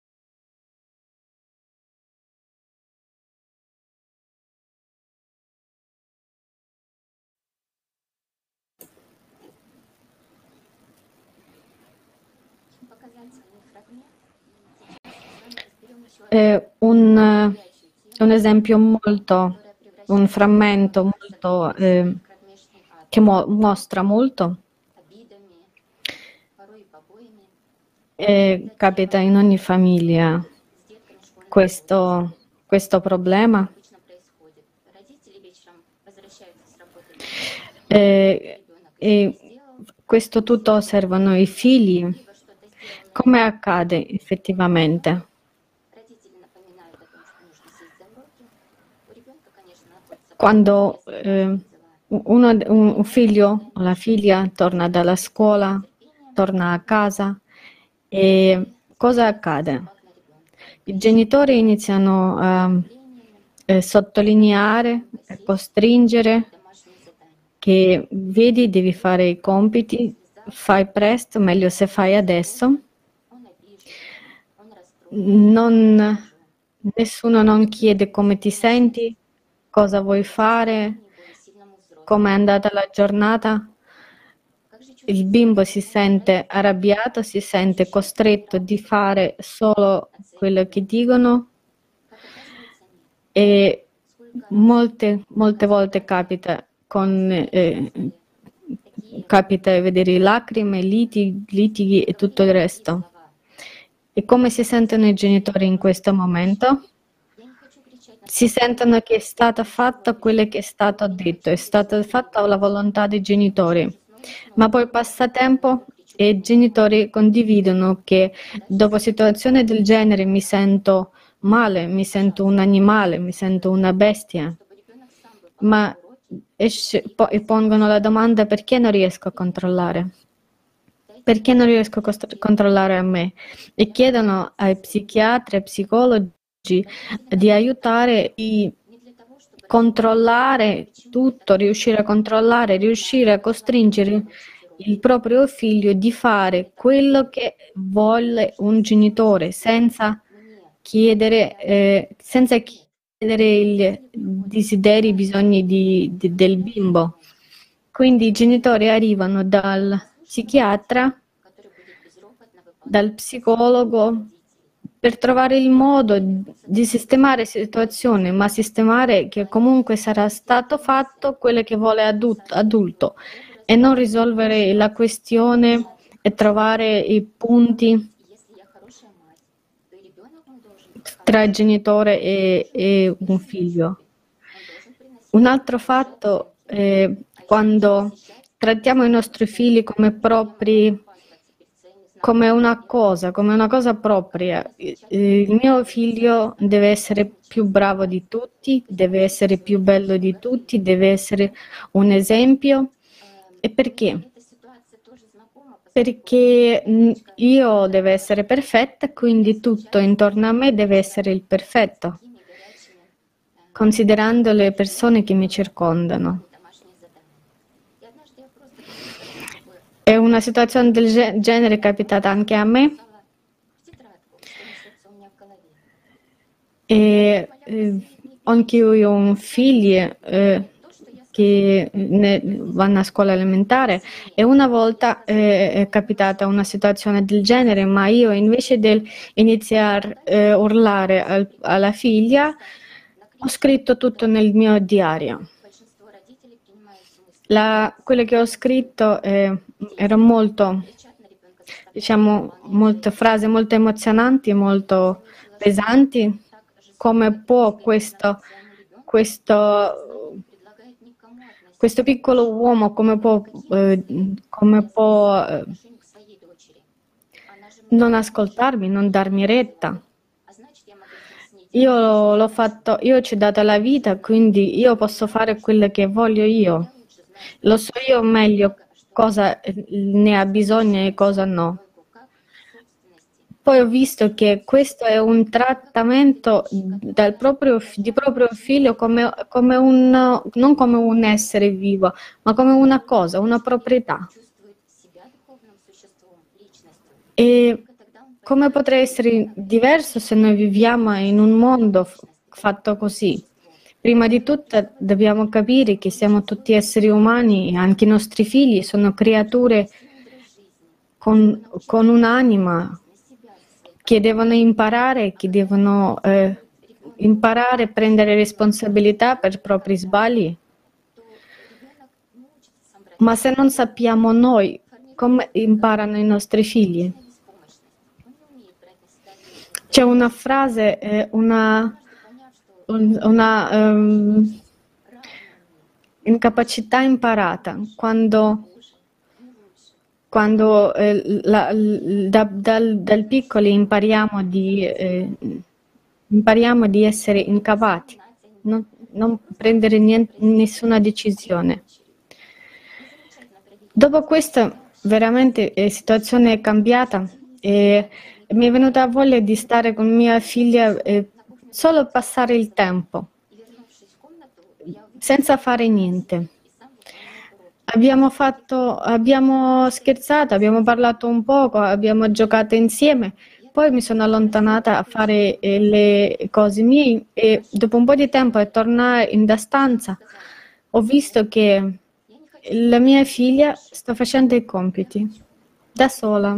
È un, un esempio molto, un frammento molto, eh, che mo- mostra molto. E capita in ogni famiglia questo, questo problema. E, e questo tutto osservano i figli. Come accade effettivamente? Quando eh, uno, un figlio o la figlia torna dalla scuola, torna a casa, e cosa accade? I genitori iniziano a eh, sottolineare, a costringere che vedi, devi fare i compiti, fai presto, meglio se fai adesso. Non, nessuno non chiede come ti senti, cosa vuoi fare, come è andata la giornata. Il bimbo si sente arrabbiato, si sente costretto di fare solo quello che dicono, e molte, molte volte capita con eh, capita vedere lacrime, litighi, litighi e tutto il resto. E come si sentono i genitori in questo momento? Si sentono che è stata fatta quello che è stato detto, è stata fatta la volontà dei genitori. Ma poi passa tempo e i genitori condividono che dopo situazioni del genere mi sento male, mi sento un animale, mi sento una bestia. Ma esce, po- e pongono la domanda: perché non riesco a controllare? Perché non riesco a costr- controllare a me? E chiedono ai psichiatri e psicologi di aiutare di controllare tutto, riuscire a controllare, riuscire a costringere il proprio figlio di fare quello che vuole un genitore, senza chiedere, eh, senza chiedere i desideri, i bisogni di- di- del bimbo. Quindi i genitori arrivano dal psichiatra, dal psicologo, per trovare il modo di sistemare la situazione, ma sistemare che comunque sarà stato fatto quello che vuole adulto, adulto e non risolvere la questione e trovare i punti tra il genitore e, e un figlio. Un altro fatto è quando trattiamo i nostri figli come propri, come una cosa, come una cosa propria. Il mio figlio deve essere più bravo di tutti, deve essere più bello di tutti, deve essere un esempio. E perché? Perché mm, io devo essere perfetta, quindi tutto intorno a me deve essere il perfetto, considerando le persone che mi circondano. È una situazione del ge- genere capitata anche a me. E eh, anche io ho un figlio eh, che ne- vanno a scuola elementare e una volta eh, è capitata una situazione del genere, ma io invece di iniziare a urlare al- alla figlia, ho scritto tutto nel mio diario. La, quello che ho scritto eh, era molto, diciamo, molte frasi molto emozionanti, molto pesanti. Come può questo, questo, questo piccolo uomo, come può, eh, come può eh, non ascoltarmi, non darmi retta? Io l'ho fatto, io ci ho dato la vita, quindi io posso fare quello che voglio io. Lo so io meglio cosa ne ha bisogno e cosa no. Poi ho visto che questo è un trattamento dal proprio, di proprio figlio come, come un, non come un essere vivo, ma come una cosa, una proprietà. E come potrà essere diverso se noi viviamo in un mondo f- fatto così? Prima di tutto dobbiamo capire che siamo tutti esseri umani e anche i nostri figli sono creature con, con un'anima che devono imparare, che devono eh, imparare a prendere responsabilità per i propri sbagli. Ma se non sappiamo noi come imparano i nostri figli? C'è una frase, eh, una, un- una ehm, incapacità imparata, quando, quando eh, la- l- da- dal, dal piccoli impariamo di, eh, impariamo di essere incapaci, non, non prendere niente- nessuna decisione. Dopo questa veramente la situazione è cambiata e mi è venuta voglia di stare con mia figlia e solo passare il tempo, senza fare niente. Abbiamo fatto, abbiamo scherzato, abbiamo parlato un poco, abbiamo giocato insieme. Poi mi sono allontanata a fare eh, le cose mie e dopo un po' di tempo a tornare in da stanza ho visto che la mia figlia sta facendo i compiti da sola.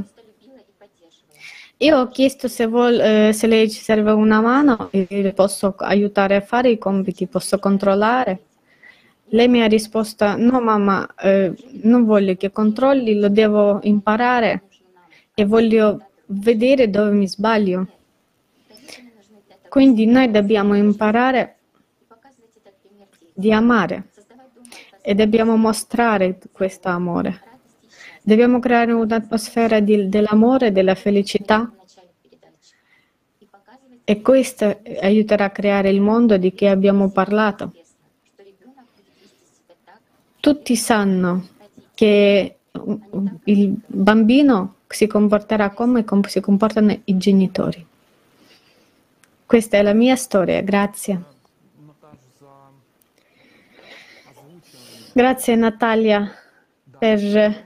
Io ho chiesto se, vuol- eh, se lei ci serve una mano e le posso aiutare a fare i compiti, posso controllare. Lei mi ha risposto: no mamma, eh, non voglio che controlli, lo devo imparare e voglio vedere dove mi sbaglio. Quindi noi dobbiamo imparare di amare e dobbiamo mostrare questo amore. Dobbiamo creare un'atmosfera di- dell'amore, della felicità E questo aiuterà a creare il mondo di cui abbiamo parlato. Tutti sanno che il bambino si comporterà come si comportano i genitori. Questa è la mia storia, grazie. Grazie Natalia per,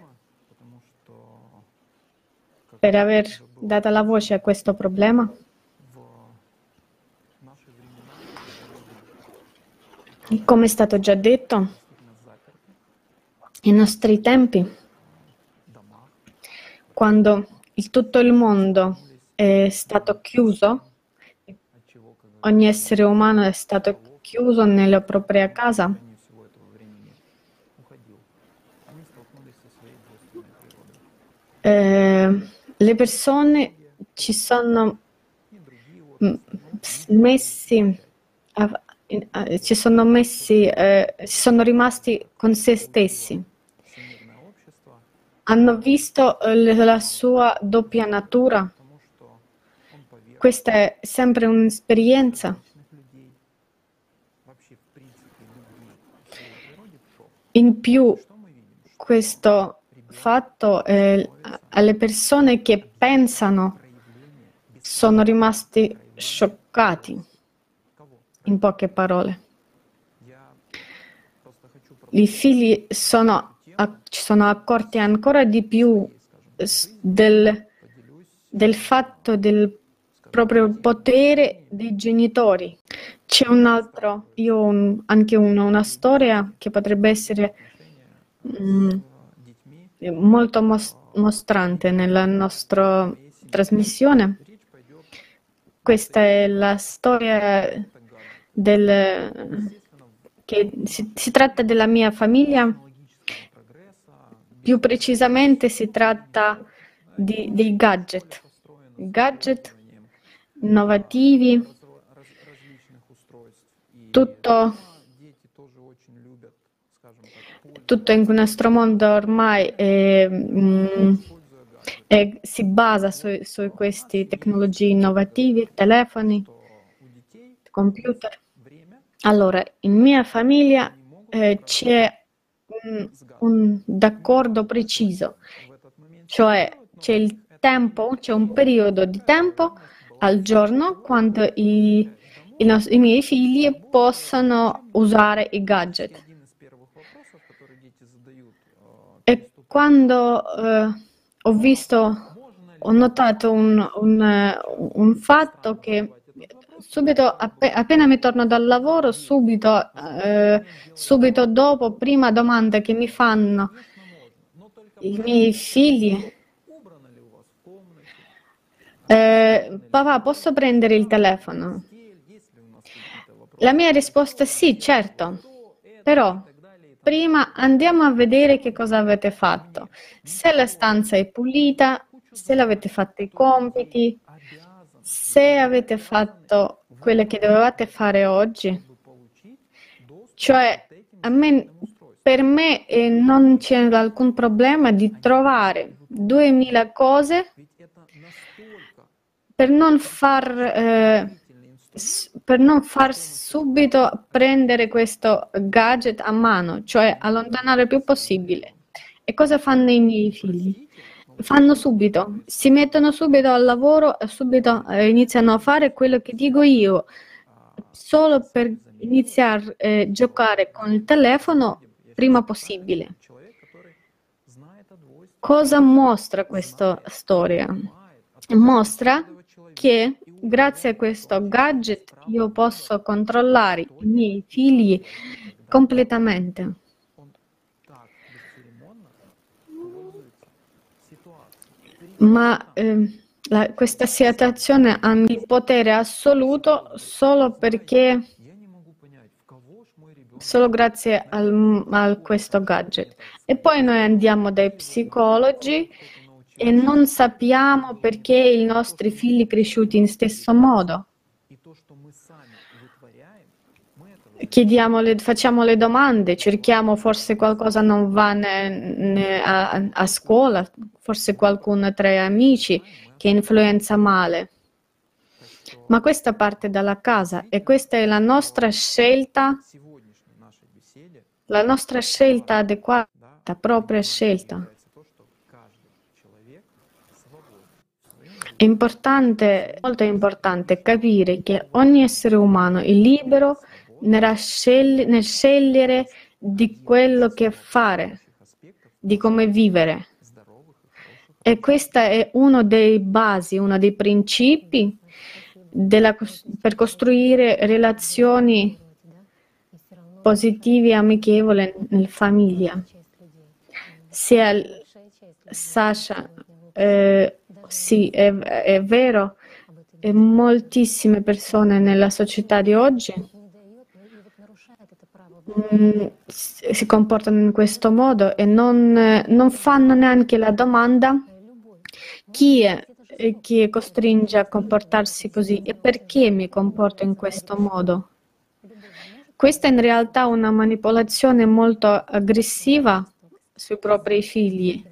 per aver dato la voce a questo problema. Come è stato già detto, nei nostri tempi, quando il, tutto il mondo è stato chiuso, ogni essere umano è stato chiuso nella propria casa, eh, le persone ci sono messi a, ci sono messi, eh, si sono rimasti con se stessi. Hanno visto eh, la sua doppia natura. Questa è sempre un'esperienza. In più, questo fatto, eh, alle persone che pensano sono rimasti scioccati. In poche parole, i figli sono, ci sono accorti ancora di più del, del fatto del proprio potere dei genitori. C'è un altro, io ho un, anche uno, una storia che potrebbe essere mm, molto mos- mostrante nella nostra trasmissione. Questa è la storia del, che si, si tratta della mia famiglia, più precisamente si tratta di, dei gadget, gadget innovativi, tutto, tutto in nostro mondo ormai è, mm, è, si basa su, su queste tecnologie innovative, telefoni, computer. Allora, in mia famiglia eh, c'è un, un d'accordo preciso, cioè c'è il tempo, c'è un periodo di tempo al giorno quando i, i, nos- i miei figli possono usare i gadget. E quando eh, ho visto, ho notato un, un, un fatto che subito, app- appena mi torno dal lavoro, subito, eh, subito dopo, prima domanda che mi fanno i miei figli, eh, papà, posso prendere il telefono? La mia risposta è sì, certo, però prima andiamo a vedere che cosa avete fatto. Se la stanza è pulita, se avete fatto i compiti, se avete fatto quello che dovevate fare oggi. Cioè, a me, per me eh, non c'è alcun problema di trovare duemila cose per non far, eh, s- per non far subito prendere questo gadget a mano, cioè allontanare il più possibile. E cosa fanno i miei figli? Fanno subito, si mettono subito al lavoro e subito eh, iniziano a fare quello che dico io, solo per iniziare a eh, giocare con il telefono prima possibile. Cosa mostra questa storia? Mostra che grazie a questo gadget io posso controllare i miei figli completamente. Ma eh, la- questa situazione ha il potere assoluto solo perché, solo grazie al, a questo gadget. E poi noi andiamo dai psicologi e non sappiamo perché i nostri figli cresciuti in stesso modo. Chiediamo le, facciamo le domande, cerchiamo, forse qualcosa non va ne- ne- a, a scuola, forse qualcuno tra gli amici che influenza male. Ma questa parte dalla casa e questa è la nostra scelta, la nostra scelta adeguata, propria scelta. È importante, molto importante capire che ogni essere umano è libero nel scegliere di quello che fare, di come vivere. E questo è uno dei basi, uno dei principi della, per costruire relazioni positive e amichevoli nella famiglia. Sia Sasha, eh, sì, è, è vero, e moltissime persone nella società di oggi mh, si comportano in questo modo e non, non fanno neanche la domanda chi è che costringe a comportarsi così e perché mi comporto in questo modo. Questa è in realtà una manipolazione molto aggressiva sui propri figli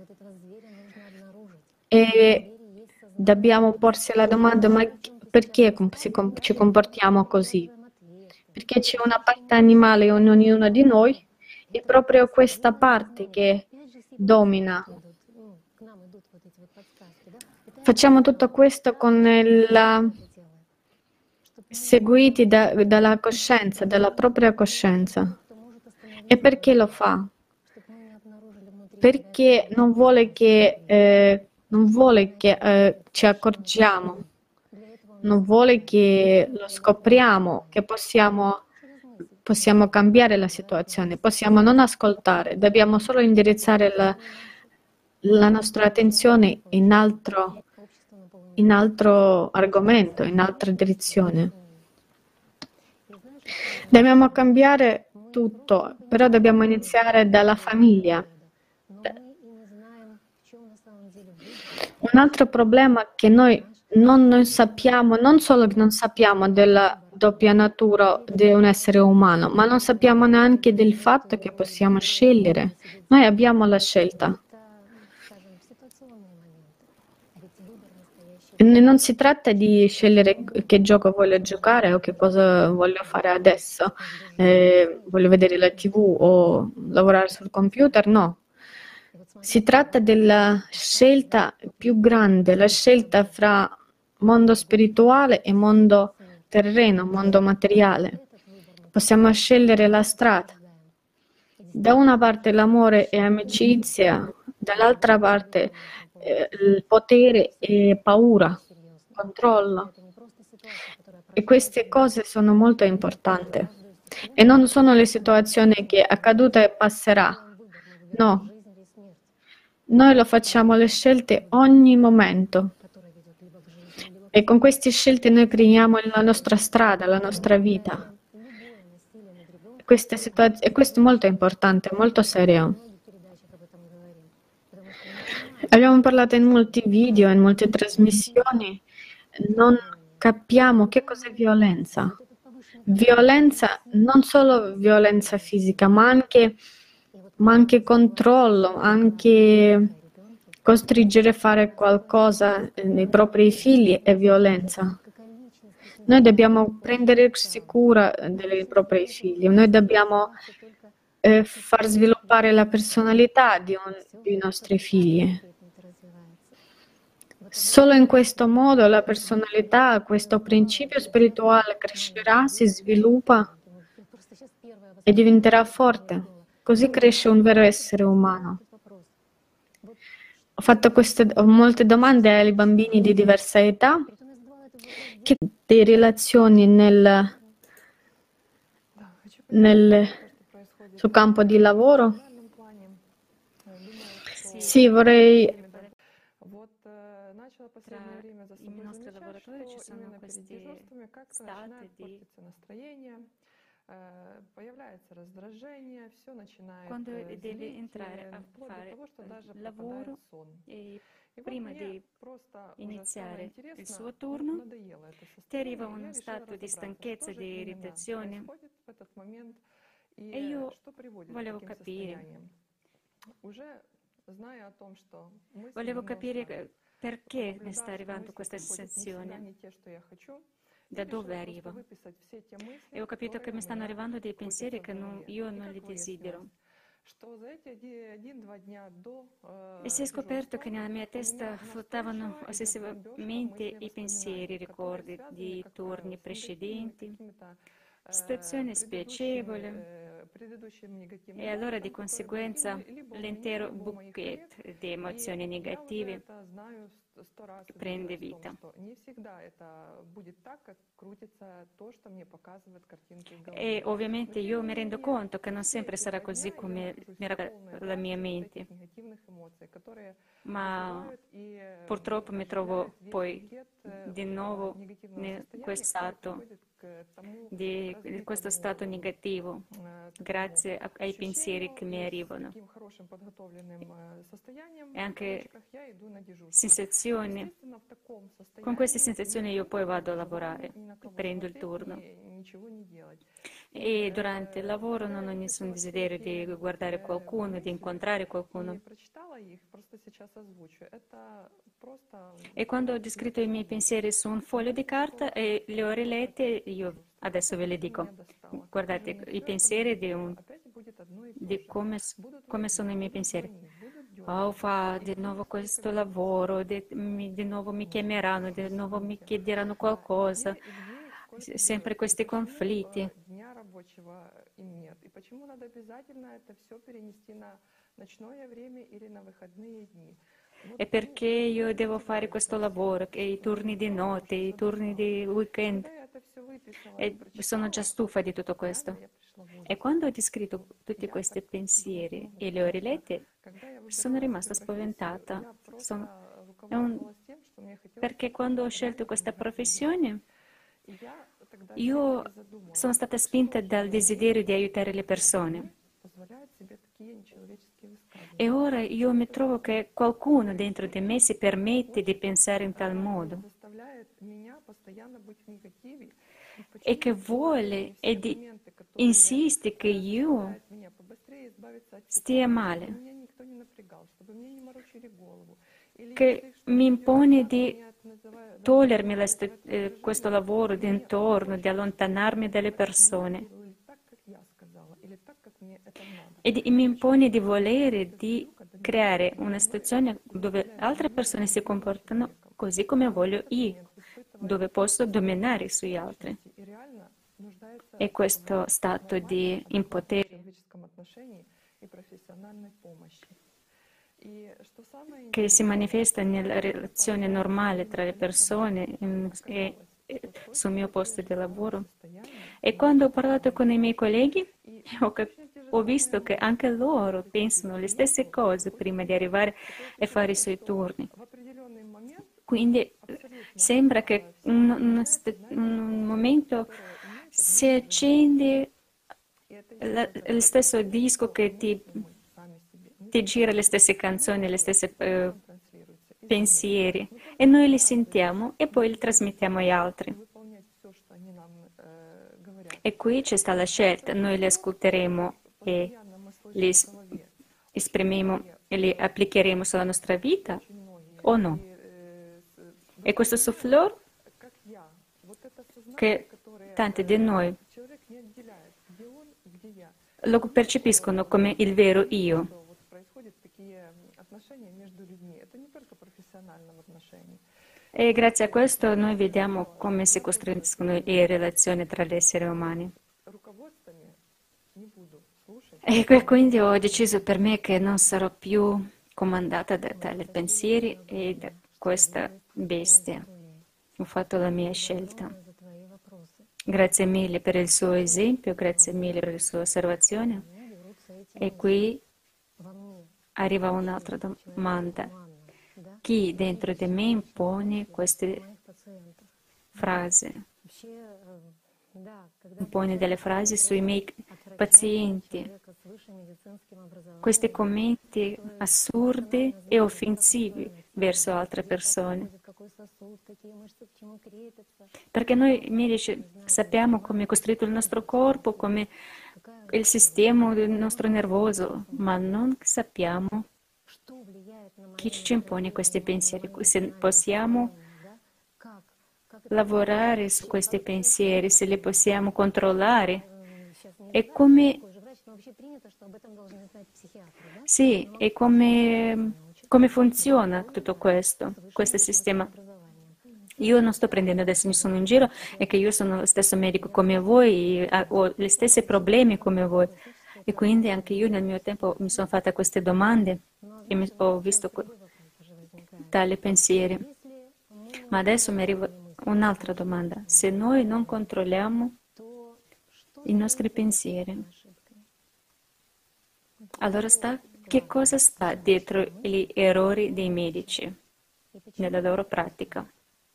e dobbiamo porsi la domanda: ma perché ci comportiamo così? Perché c'è una parte animale in ognuno di noi e proprio questa parte che domina. Facciamo tutto questo con la seguiti da, dalla coscienza, dalla propria coscienza. E perché lo fa? Perché non vuole che, eh, non vuole che eh, ci accorgiamo, non vuole che lo scopriamo, che possiamo, possiamo cambiare la situazione, possiamo non ascoltare, dobbiamo solo indirizzare la, la nostra attenzione in altro, in altro argomento, in altra direzione. Dobbiamo cambiare tutto, però dobbiamo iniziare dalla famiglia. Un altro problema è che noi non, non sappiamo, non solo che non sappiamo della doppia natura di un essere umano, ma non sappiamo neanche del fatto che possiamo scegliere. Noi abbiamo la scelta. Non si tratta di scegliere che gioco voglio giocare o che cosa voglio fare adesso. Eh, voglio vedere la tivù o lavorare sul computer, no. Si tratta della scelta più grande, la scelta fra mondo spirituale e mondo terreno, mondo materiale. Possiamo scegliere la strada. Da una parte l'amore e amicizia, dall'altra parte eh, il potere e paura, controllo. E queste cose sono molto importanti. E non sono le situazioni che è accaduta e passerà. No. Noi lo facciamo le scelte ogni momento. E con queste scelte noi creiamo la nostra strada, la nostra vita. Questa situaz- e questo è molto importante, molto serio. Abbiamo parlato in molti video, in molte trasmissioni, non capiamo che cos'è violenza. Violenza, non solo violenza fisica, ma anche, ma anche controllo, anche costringere a fare qualcosa nei propri figli è violenza. Noi dobbiamo prendere cura dei propri figli, noi dobbiamo eh, far sviluppare la personalità di un, dei nostri figli. Solo in questo modo la personalità, questo principio spirituale crescerà, si sviluppa e diventerà forte. Così cresce un vero essere umano. Ho fatto queste, ho molte domande ai bambini di diversa età. Che di relazioni nel, nel suo campo di lavoro? Sì, vorrei... Tra i nostri lavoratori ci sono questi stati di... Quando devi entrare a fare il lavoro e prima di iniziare il suo turno ti arriva uno stato di stanchezza, di irritazione e io volevo capire, volevo capire perché mi sta arrivando questa sensazione. da dove arriva. E ho capito che mi stanno arrivando dei pensieri che non, io non li desidero. E si è scoperto che nella mia testa flottavano ossessivamente i pensieri, ricordi di turni precedenti, situazioni spiacevoli, e allora di conseguenza l'intero bouquet di emozioni negative prende vita. E ovviamente io mi rendo conto che non sempre sarà così come mi racconta la mia mente, ma purtroppo mi trovo poi di nuovo in questo stato, di questo stato negativo, grazie ai pensieri che mi arrivano. E anche sensazioni, con queste sensazioni io poi vado a lavorare, prendo il turno. E durante il lavoro non ho nessun desiderio di guardare qualcuno, di incontrare qualcuno. E quando ho descritto i miei pensieri su un foglio di carta e li ho riletti, io adesso ve le dico. Guardate, i pensieri di, un, di come, come sono i miei pensieri. Oh, fa di nuovo questo lavoro, di, mi, di nuovo mi chiameranno, di nuovo mi chiederanno qualcosa, sempre questi conflitti. E perché io devo fare questo lavoro, e i turni di notte, i turni di weekend, e sono già stufa di tutto questo. E quando ho descritto tutti questi pensieri e li ho riletti, sono rimasta spaventata. Sono, un, perché quando ho scelto questa professione, io sono stata spinta dal desiderio di aiutare le persone. E ora io mi trovo che qualcuno dentro di me si permette di pensare in tal modo e che vuole e di, insiste che io stia male, che mi impone di togliermi la, eh, questo lavoro di intorno, di allontanarmi dalle persone. E, di, e mi impone di volere di creare una situazione dove altre persone si comportano così come voglio io, dove posso dominare sugli altri. E questo stato di impotenza che si manifesta nella relazione normale tra le persone e, e sul mio posto di lavoro. E quando ho parlato con i miei colleghi, ho, ho visto che anche loro pensano le stesse cose prima di arrivare a fare i suoi turni. Quindi sembra che in un, un momento si accende la, lo stesso disco che ti, ti gira le stesse canzoni, le stesse uh, pensieri, e noi li sentiamo e poi li trasmettiamo agli altri. E qui c'è sta la scelta, noi li ascolteremo e li esprimeremo e li applicheremo sulla nostra vita o no. E questo souffleur che tanti di noi lo percepiscono come il vero io. E grazie a questo noi vediamo come si costruiscono le relazioni tra gli esseri umani. E quindi ho deciso per me che non sarò più comandata da tali pensieri e da questa bestia. Ho fatto la mia scelta. Grazie mille per il suo esempio, grazie mille per la sua osservazione. E qui arriva un'altra domanda. Chi dentro di me impone queste frasi? Impone delle frasi sui miei pazienti, questi commenti assurdi e offensivi verso altre persone. Perché noi medici sappiamo come è costruito il nostro corpo, come il sistema del nostro nervoso, ma non sappiamo chi ci impone questi pensieri, se possiamo lavorare su questi pensieri, se li possiamo controllare. E come, sì, e come, come funziona tutto questo, questo sistema. Io non sto prendendo adesso nessuno in giro, è che io sono lo stesso medico come voi, e ho gli stessi problemi come voi. E quindi anche io nel mio tempo mi sono fatta queste domande e mi, ho visto tali pensieri. Ma adesso mi arriva un'altra domanda. Se noi non controlliamo i nostri pensieri, allora sta, che cosa sta dietro gli errori dei medici nella loro pratica?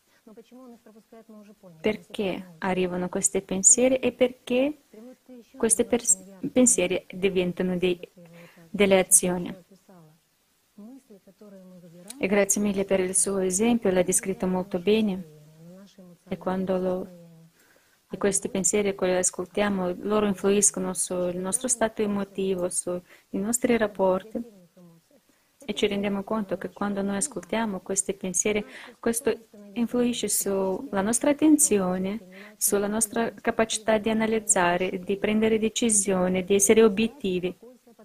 Perché arrivano questi pensieri e perché questi pensieri diventano dei, delle azioni? E grazie mille per il suo esempio, l'ha descritto molto bene. E quando lo, e questi pensieri, quando li ascoltiamo, loro influiscono sul nostro stato emotivo, sui nostri rapporti. E ci rendiamo conto che quando noi ascoltiamo questi pensieri, questo influisce sulla nostra attenzione, sulla nostra capacità di analizzare, di prendere decisioni, di essere obiettivi.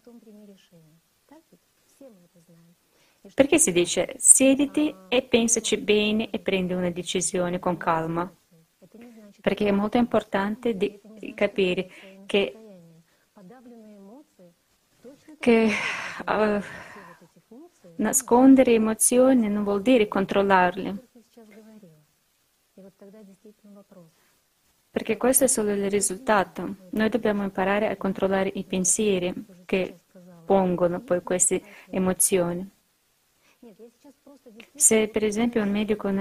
Perché si dice siediti e pensaci bene e prendi una decisione con calma? Perché è molto importante di capire che, che uh, nascondere emozioni non vuol dire controllarle. Perché questo è solo il risultato. Noi dobbiamo imparare a controllare i pensieri che pongono poi queste emozioni. Se per esempio un medico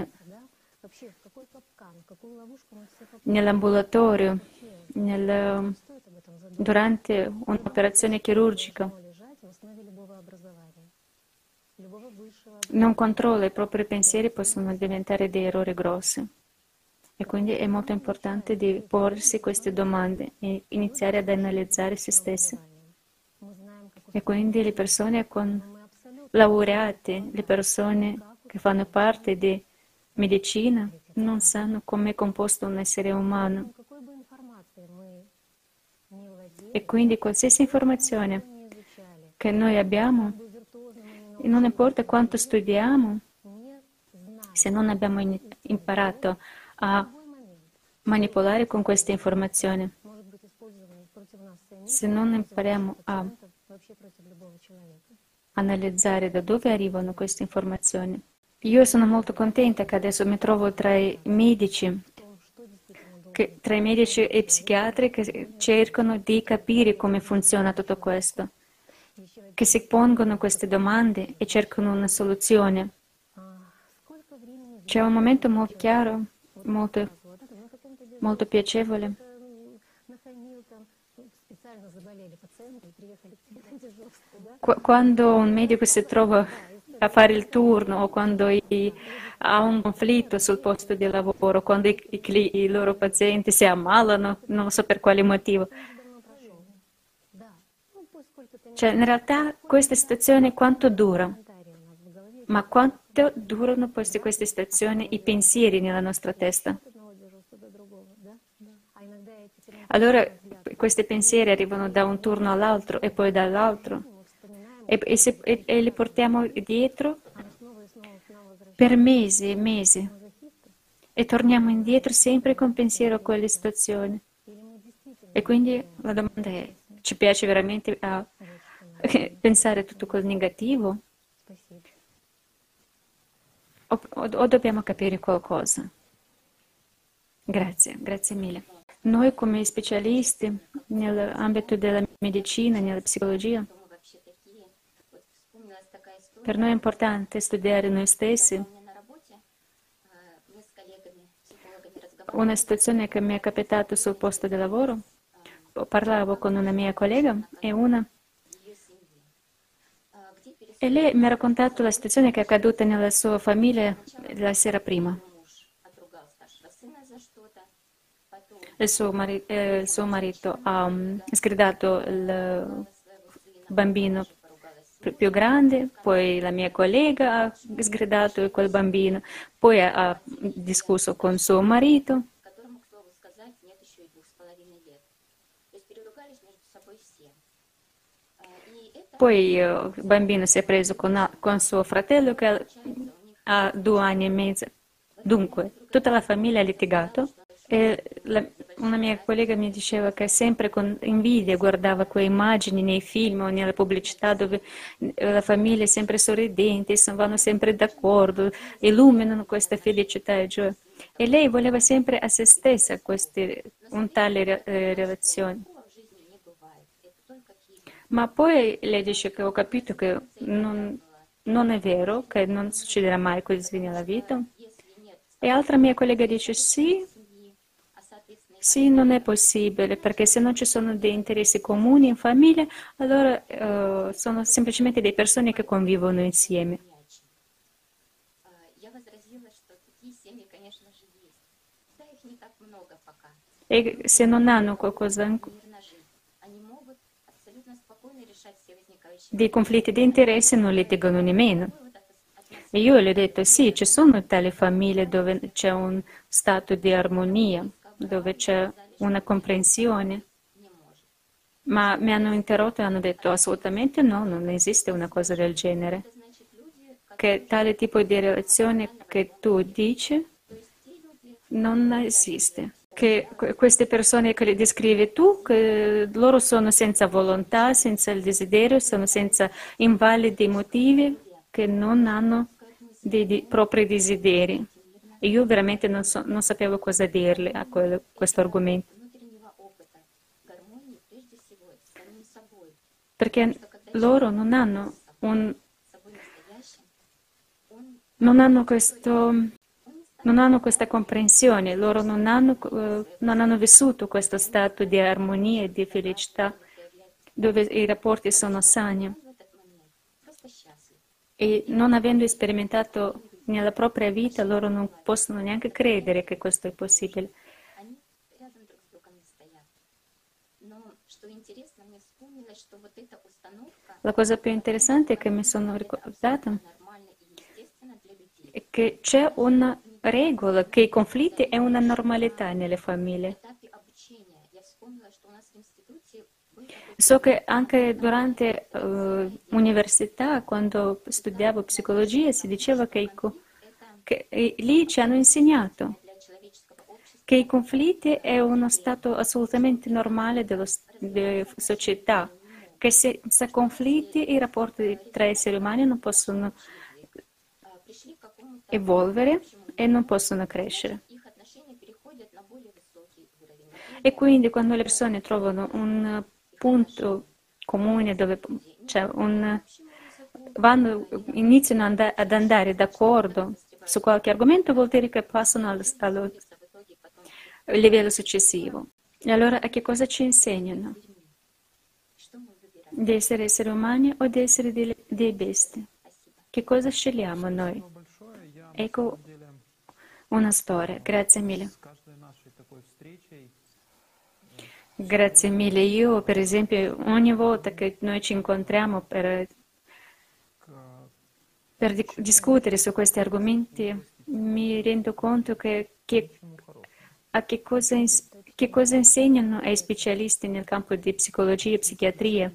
nell'ambulatorio, nel, durante un'operazione chirurgica, non controlla i propri pensieri, possono diventare dei errori grossi. E quindi è molto importante di porsi queste domande e iniziare ad analizzare se stessi. E quindi le persone con laureate, le persone che fanno parte di medicina, non sanno come è composto un essere umano. E quindi qualsiasi informazione che noi abbiamo, non importa quanto studiamo, se non abbiamo imparato a manipolare con queste informazioni, se non impariamo a analizzare da dove arrivano queste informazioni. Io sono molto contenta che adesso mi trovo tra i medici, che, tra i medici e psichiatri che cercano di capire come funziona tutto questo, che si pongono queste domande e cercano una soluzione. C'è un momento molto chiaro, molto, molto piacevole. Qu- quando un medico si trova a fare il turno o quando i, ha un conflitto sul posto di lavoro, quando i, i, i loro pazienti si ammalano, non so per quale motivo. Cioè, in realtà questa situazione quanto dura? Ma quanto durano queste, queste situazioni, i pensieri nella nostra testa? Allora questi pensieri arrivano da un turno all'altro e poi dall'altro e, e, se, e, e li portiamo dietro per mesi e mesi e torniamo indietro sempre con pensiero a quelle situazioni. E quindi la domanda è, ci piace veramente a pensare tutto quel negativo? O, o, o dobbiamo capire qualcosa? Grazie, grazie mille. Noi come specialisti nell'ambito della medicina, nella psicologia, per noi è importante studiare noi stessi. Una situazione che mi è capitata sul posto di lavoro, parlavo con una mia collega e una e lei mi ha raccontato la situazione che è accaduta nella sua famiglia la sera prima. Il suo, mari- eh, il suo marito ha um, sgridato il bambino più grande, poi la mia collega ha sgridato quel bambino, poi ha, ha discusso con suo marito. Poi uh, il bambino si è preso con, con suo fratello che ha due anni e mezzo. Dunque, tutta la famiglia ha litigato. E la, una mia collega mi diceva che sempre con invidia guardava quelle immagini nei film o nella pubblicità dove la famiglia è sempre sorridente, vanno sempre d'accordo, illuminano questa felicità e gioia. E lei voleva sempre a se stessa queste, un tale eh, relazione. Ma poi lei dice che ho capito che non, non è vero, che non succederà mai così nella vita. E altra mia collega dice sì, sì, non è possibile, perché se non ci sono dei interessi comuni in famiglia, allora uh, sono semplicemente delle persone che convivono insieme. E se non hanno qualcosa dei conflitti di interesse non litigano nemmeno. E io le ho detto sì, ci sono tali famiglie dove c'è un stato di armonia, dove c'è una comprensione, ma mi hanno interrotto e hanno detto assolutamente no, non esiste una cosa del genere, che tale tipo di relazione che tu dici non esiste, che queste persone che le descrivi tu, che loro sono senza volontà, senza il desiderio, sono senza invalidi motivi, che non hanno dei, dei propri desideri. E io veramente non, so, non sapevo cosa dirle a quello, questo argomento. Perché loro non hanno, un, non hanno, questo, non hanno questa comprensione, loro non hanno, uh, non hanno vissuto questo stato di armonia e di felicità dove i rapporti sono sani. E non avendo sperimentato nella propria vita, loro non possono neanche credere che questo è possibile. La cosa più interessante che mi sono ricordata è che c'è una regola, che i conflitti è una normalità nelle famiglie. So che anche durante l'università, uh, quando studiavo psicologia, si diceva che, i, che e, lì ci hanno insegnato che i conflitti è uno stato assolutamente normale dello, della società, che senza conflitti i rapporti tra esseri umani non possono evolvere e non possono crescere. E quindi quando le persone trovano un punto comune dove c'è un, vanno, iniziano and- ad andare d'accordo su qualche argomento, vuol dire che passano al, al livello successivo. E allora a che cosa ci insegnano? Di essere esseri umani o di essere delle, dei bestie? Che cosa scegliamo noi? Ecco una storia. Grazie mille. Grazie mille. Io, per esempio, ogni volta che noi ci incontriamo per, per di- discutere su questi argomenti, mi rendo conto che, che, a che cosa, ins- che cosa insegnano ai specialisti nel campo di psicologia e psichiatria.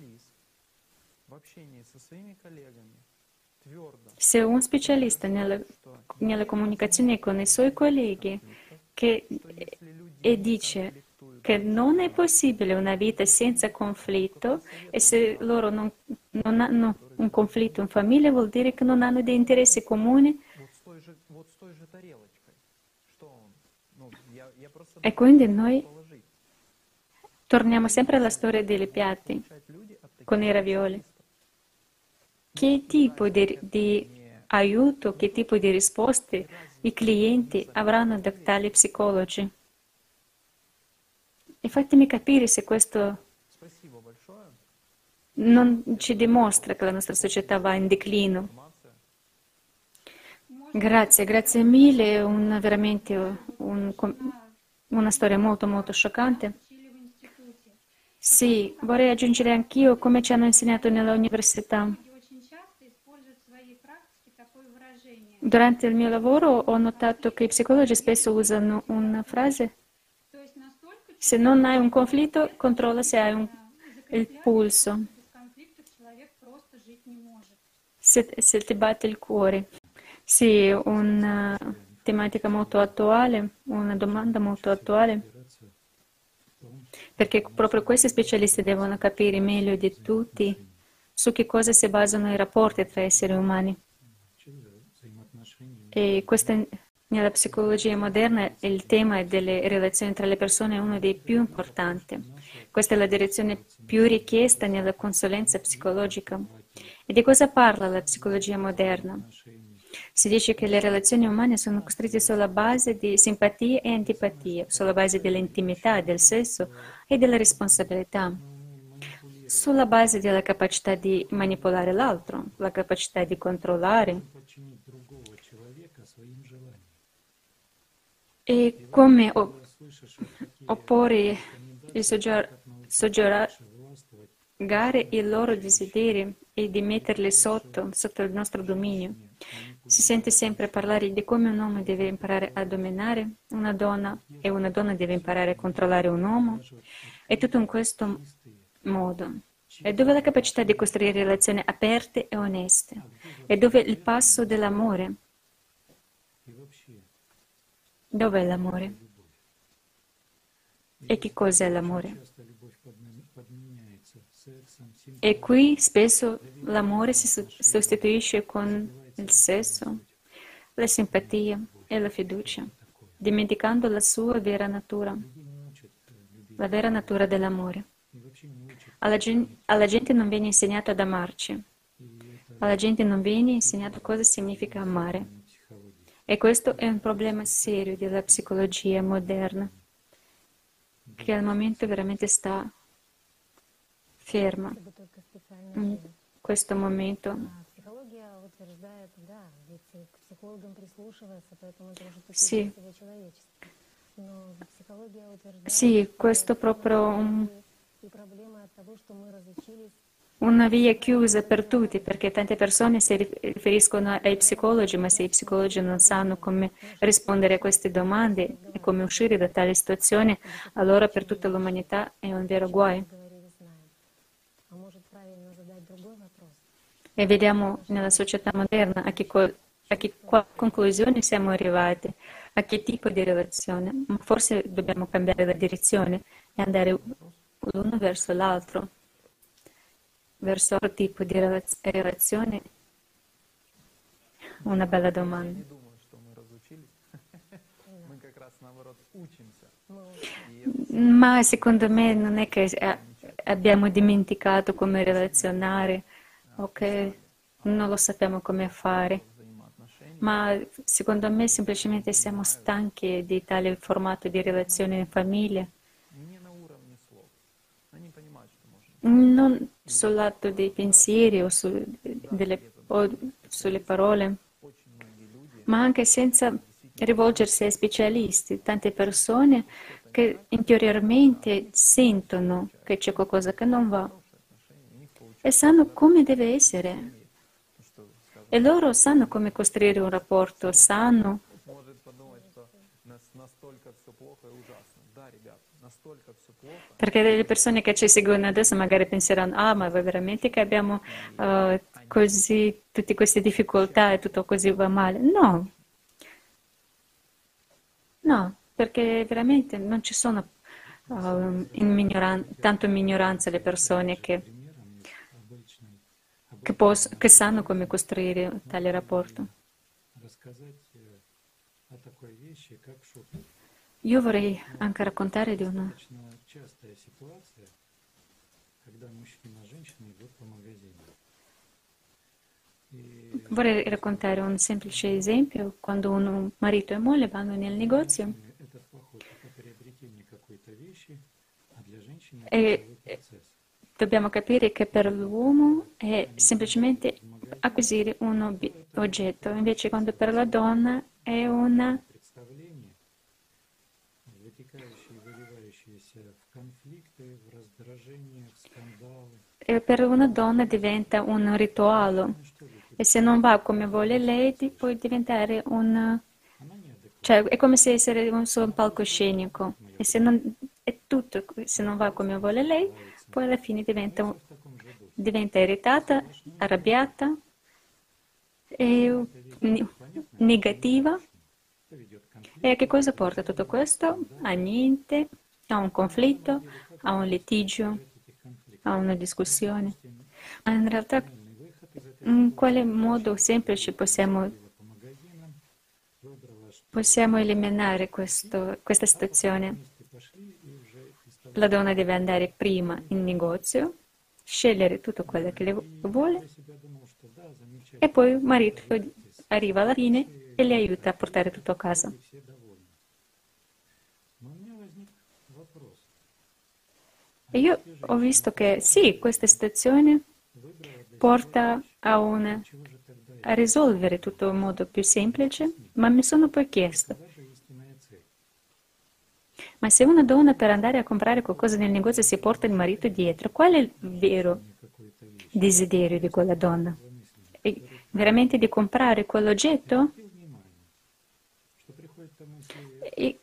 Se un specialista nella, nella comunicazione con i suoi colleghi che, e dice che non è possibile una vita senza conflitto e se loro non, non hanno un conflitto in famiglia vuol dire che non hanno dei interessi comuni e quindi noi torniamo sempre alla storia dei piatti con i ravioli. Che tipo di, di aiuto, che tipo di risposte i clienti avranno da tali psicologi? E fatemi capire se questo non ci dimostra che la nostra società va in declino. Grazie, grazie mille, una, veramente un, una storia molto molto scioccante. Sì, vorrei aggiungere anch'io come ci hanno insegnato nell'università. Durante il mio lavoro ho notato che i psicologi spesso usano una frase: se non hai un conflitto, controlla se hai un, il pulso, se, se ti batte il cuore. Sì, una tematica molto attuale, una domanda molto attuale, perché proprio questi specialisti devono capire meglio di tutti su che cosa si basano i rapporti tra esseri umani. E questa, nella psicologia moderna il tema delle relazioni tra le persone è uno dei più importanti. Questa è la direzione più richiesta nella consulenza psicologica. E di cosa parla la psicologia moderna? Si dice che le relazioni umane sono costruite sulla base di simpatia e antipatia, sulla base dell'intimità, del sesso e della responsabilità, sulla base della capacità di manipolare l'altro, la capacità di controllare. E come opporre e soggiogare i loro desideri e di metterli sotto, sotto il nostro dominio. Si sente sempre parlare di come un uomo deve imparare a dominare una donna e una donna deve imparare a controllare un uomo. E tutto in questo modo. E dove la capacità di costruire relazioni aperte e oneste? E dove il passo dell'amore? Dov'è l'amore? E che cos'è l'amore? E qui spesso l'amore si sostituisce con il sesso, la simpatia e la fiducia, dimenticando la sua vera natura, la vera natura dell'amore. Alla gente, alla gente non viene insegnato ad amarci, alla gente non viene insegnato cosa significa amare. E questo è un problema serio della psicologia moderna, che al momento veramente sta ferma in questo momento. Sì, sì, questo è proprio un, una via chiusa per tutti, perché tante persone si riferiscono ai psicologi, ma se i psicologi non sanno come rispondere a queste domande e come uscire da tale situazione, allora per tutta l'umanità è un vero guaio. E vediamo nella società moderna a che, co- a che qua- conclusione siamo arrivati, a che tipo di relazione. Ma forse dobbiamo cambiare la direzione e andare l'uno verso l'altro, verso altro tipo di relaz- relazione. Una bella domanda. Ma secondo me non è che eh, abbiamo dimenticato come relazionare o che non lo sappiamo come fare, ma secondo me semplicemente siamo stanchi di tale formato di relazione in famiglia, non sul lato dei pensieri o, su, delle, o sulle parole, ma anche senza rivolgersi ai specialisti. Tante persone che interiormente sentono che c'è qualcosa che non va e sanno come deve essere. E loro sanno come costruire un rapporto sano. Perché le persone che ci seguono adesso magari penseranno, ah, ma veramente che abbiamo uh, così, tutte queste difficoltà e tutto così va male? No, no, perché veramente non ci sono uh, in minoran- tanto in minoranza le persone che, che, pos- che sanno come costruire tale rapporto. Io vorrei anche raccontare di una Vorrei raccontare un semplice esempio. Quando un marito e moglie vanno nel negozio e dobbiamo capire che per l'uomo è semplicemente acquisire un ob- oggetto, invece quando per la donna è una E per una donna diventa un rituale e se non va come vuole lei può diventare un... cioè è come se essere un suo palcoscenico e se non è tutto, se non va come vuole lei, poi alla fine diventa, un- diventa irritata, arrabbiata e ne- negativa. E a che cosa porta tutto questo? A niente, a un conflitto, a un litigio, a una discussione. Ma in realtà in quale modo semplice possiamo, possiamo eliminare questo- questa situazione? La donna deve andare prima in negozio, scegliere tutto quello che le vuole e poi il marito arriva alla fine e le aiuta a portare tutto a casa. E io ho visto che sì, questa situazione porta a, una, a risolvere tutto in modo più semplice, ma mi sono poi chiesto, ma se una donna per andare a comprare qualcosa nel negozio si porta il marito dietro, qual è il vero desiderio di quella donna? È veramente di comprare quell'oggetto? E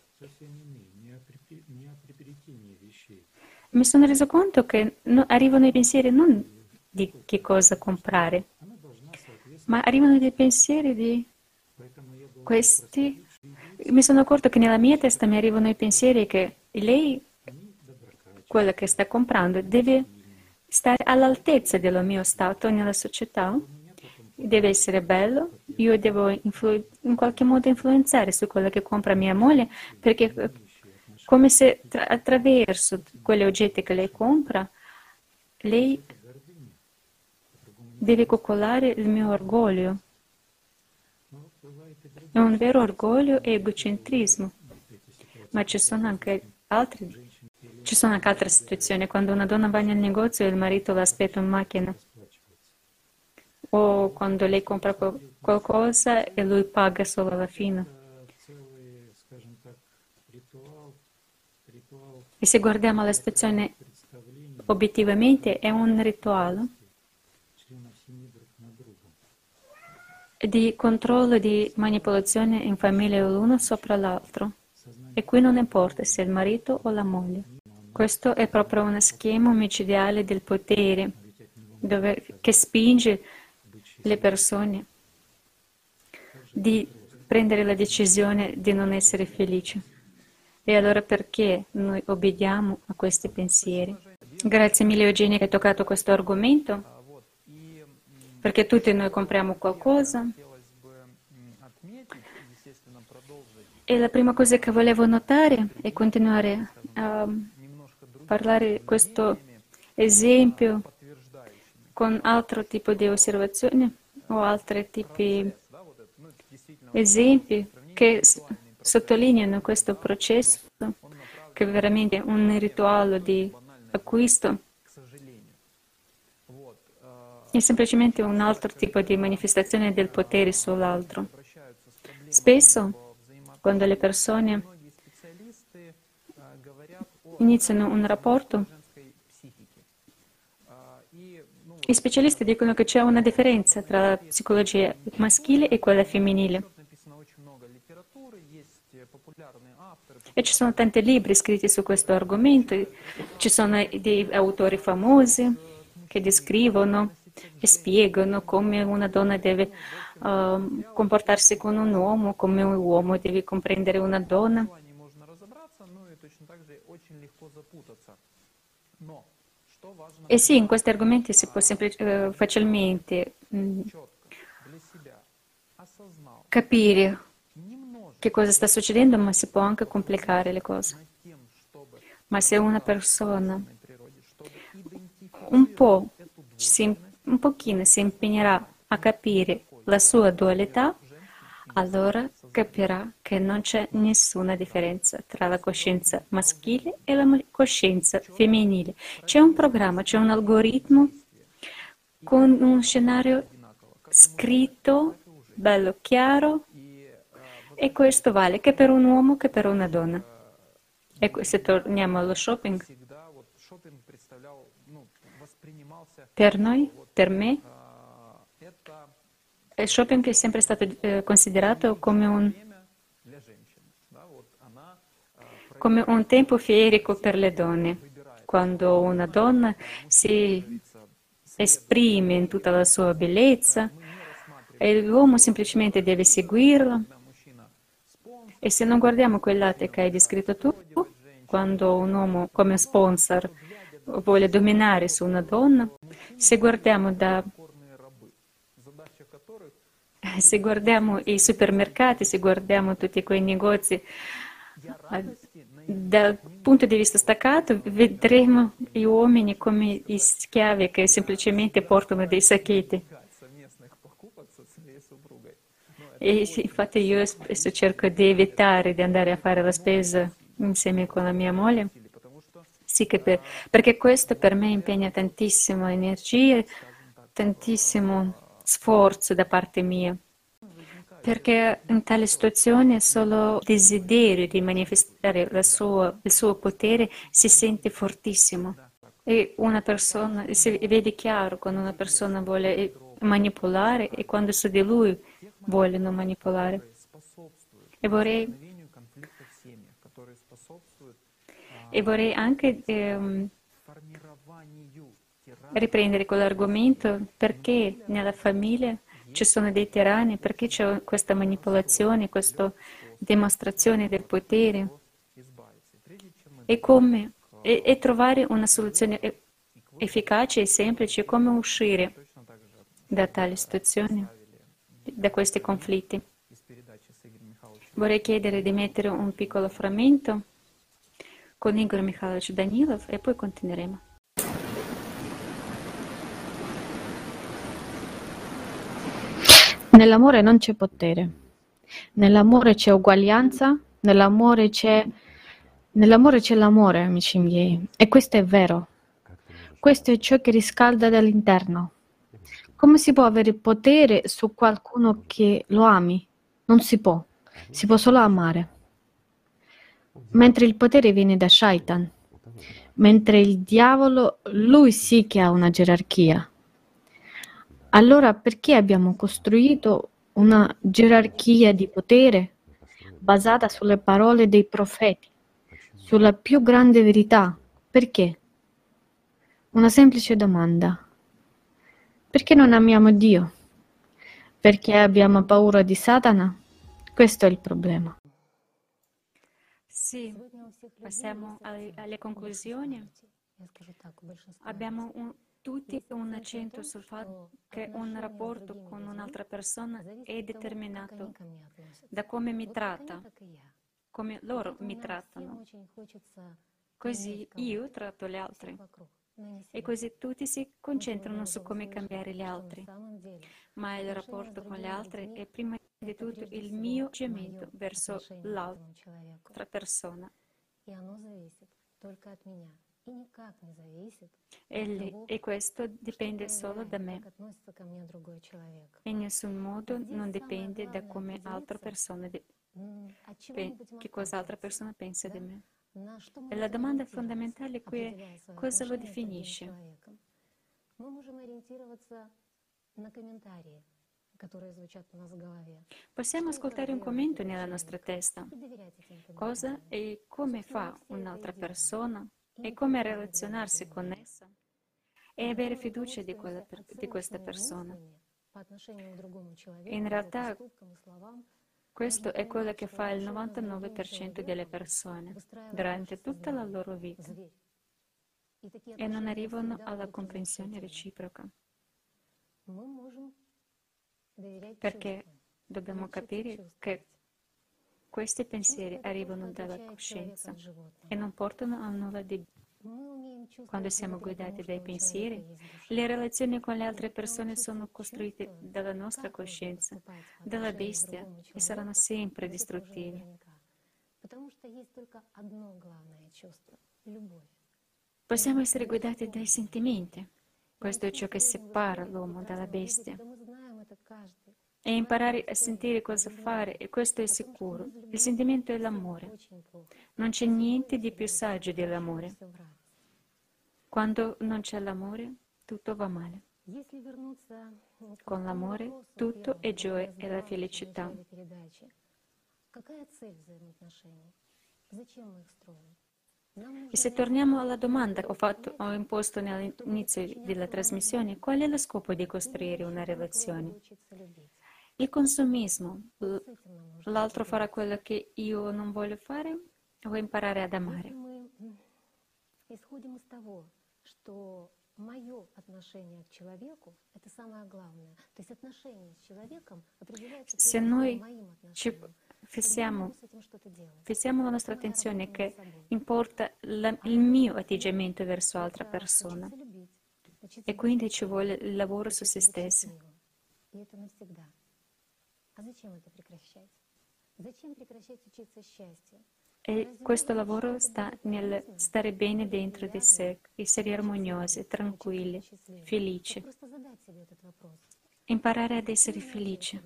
mi sono reso conto che no- arrivano i pensieri non di che cosa comprare, ma arrivano dei pensieri di questi. Mi sono accorto che nella mia testa mi arrivano i pensieri che lei, quella che sta comprando, deve stare all'altezza del mio stato nella società, deve essere bello, io devo influ- in qualche modo influenzare su quello che compra mia moglie, perché eh, come se tra- attraverso quegli oggetti che lei compra, lei deve coccolare il mio orgoglio. È un vero orgoglio e egocentrismo, ma ci sono anche altri, ci sono anche altre situazioni, quando una donna va nel negozio e il marito l'aspetta in macchina, o quando lei compra qual- qualcosa e lui paga solo alla fine. E se guardiamo la situazione obiettivamente, è un rituale di controllo e di manipolazione in famiglia l'uno sopra l'altro. E qui non importa se è il marito o la moglie. Questo è proprio uno schema omicidiale del potere dove- che spinge le persone di prendere la decisione di non essere felici. E allora perché noi obbediamo a questi pensieri? Grazie mille Eugenia che hai toccato questo argomento, perché tutti noi compriamo qualcosa. E la prima cosa che volevo notare è continuare a parlare di questo esempio con altro tipo di osservazioni o altri tipi di esempi che s- sottolineano questo processo, che è veramente un rituale di acquisto, è semplicemente un altro tipo di manifestazione del potere sull'altro. Spesso, quando le persone iniziano un rapporto, i specialisti dicono che c'è una differenza tra la psicologia maschile e quella femminile. E ci sono tanti libri scritti su questo argomento, ci sono dei autori famosi che descrivono e spiegano come una donna deve uh, comportarsi con un uomo, come un uomo deve comprendere una donna. E sì, in questi argomenti si può semplic- uh, facilmente mh, capire che cosa sta succedendo, ma si può anche complicare le cose. Ma se una persona un po', si, un pochino si impegnerà a capire la sua dualità, allora capirà che non c'è nessuna differenza tra la coscienza maschile e la coscienza femminile. C'è un programma, c'è un algoritmo con un scenario scritto, bello chiaro, e questo vale che per un uomo che per una donna. E se torniamo allo shopping, per noi, per me, il shopping è sempre stato eh, considerato come un, come un tempo fierico per le donne, quando una donna si esprime in tutta la sua bellezza e l'uomo semplicemente deve seguirla. E se non guardiamo quel latte che hai descritto tu, quando un uomo come sponsor vuole dominare su una donna, se guardiamo, da, se guardiamo i supermercati, se guardiamo tutti quei negozi, dal punto di vista staccato vedremo gli uomini come gli schiavi che semplicemente portano dei sacchetti. E infatti io spesso cerco di evitare di andare a fare la spesa insieme con la mia moglie, sì, che per, perché questo per me impegna tantissimo energia, tantissimo sforzo da parte mia. Perché in tale situazione solo il desiderio di manifestare la sua, il suo potere si sente fortissimo. E una persona, si vede chiaro quando una persona vuole manipolare e quando su di lui vogliono manipolare. E vorrei, e vorrei anche ehm, riprendere quell'argomento perché nella famiglia ci sono dei tiranni, perché c'è questa manipolazione, questa dimostrazione del potere e come e, e trovare una soluzione efficace e semplice, come uscire da tali situazioni, da questi conflitti. Vorrei chiedere di mettere un piccolo frammento con Igor Mikhailovich Danilov e poi continueremo. Nell'amore non c'è potere, nell'amore c'è uguaglianza, nell'amore c'è, nell'amore c'è l'amore, amici miei, e questo è vero. Questo è ciò che riscalda dall'interno. Come si può avere potere su qualcuno che lo ami? Non si può, si può solo amare. Mentre il potere viene da Shaitan, mentre il diavolo, lui sì che ha una gerarchia. Allora perché abbiamo costruito una gerarchia di potere basata sulle parole dei profeti, sulla più grande verità? Perché? Una semplice domanda. Perché non amiamo Dio? Perché abbiamo paura di Satana? Questo è il problema. Sì, passiamo alle, alle conclusioni. Abbiamo un, tutti un accento sul fatto che un rapporto con un'altra persona è determinato da come mi tratta, come loro mi trattano. Così io tratto gli altri. E così tutti si concentrano su come cambiare gli altri. Ma il rapporto con gli altri è prima di tutto il mio atteggiamento verso l'altra persona. E, e questo dipende solo da me. In nessun modo non dipende da come altra persona, de, pe, che cosa altra persona pensa di me. E la domanda fondamentale qui è: cosa lo definisce? Possiamo ascoltare un commento nella nostra testa. Cosa e come fa un'altra persona e come relazionarsi con essa e avere fiducia di, quella, di questa persona. In realtà questo è quello che fa il novantanove per cento delle persone durante tutta la loro vita e non arrivano alla comprensione reciproca. Perché dobbiamo capire che questi pensieri arrivano dalla coscienza e non portano a nulla di buono. Quando siamo guidati dai pensieri, le relazioni con le altre persone sono costruite dalla nostra coscienza, dalla bestia, e saranno sempre distruttive. Possiamo essere guidati dai sentimenti. Questo è ciò che separa l'uomo dalla bestia. e imparare a sentire cosa fare, e questo è sicuro. Il sentimento è l'amore. Non c'è niente di più saggio dell'amore. Quando non c'è l'amore, tutto va male. Con l'amore, tutto è gioia e la felicità. E se torniamo alla domanda che ho, fatto, ho imposto all'inizio della trasmissione, qual è lo scopo di costruire una relazione? Il consumismo, l'altro farà quello che io non voglio fare, o imparare ad amare? Se noi ci fissiamo, fissiamo la nostra attenzione che importa la, il mio atteggiamento verso l'altra persona, e quindi ci vuole il lavoro su se stessi. E questo lavoro sta nel stare bene dentro di sé, essere armoniosi, tranquilli, felici. Imparare ad essere felici.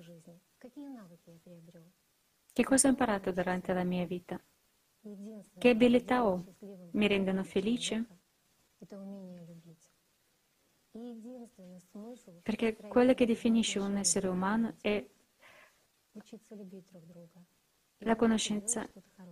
Che cosa ho imparato durante la mia vita? Che abilità ho? Mi rendono felice? Perché quello che definisce un essere umano è la conoscenza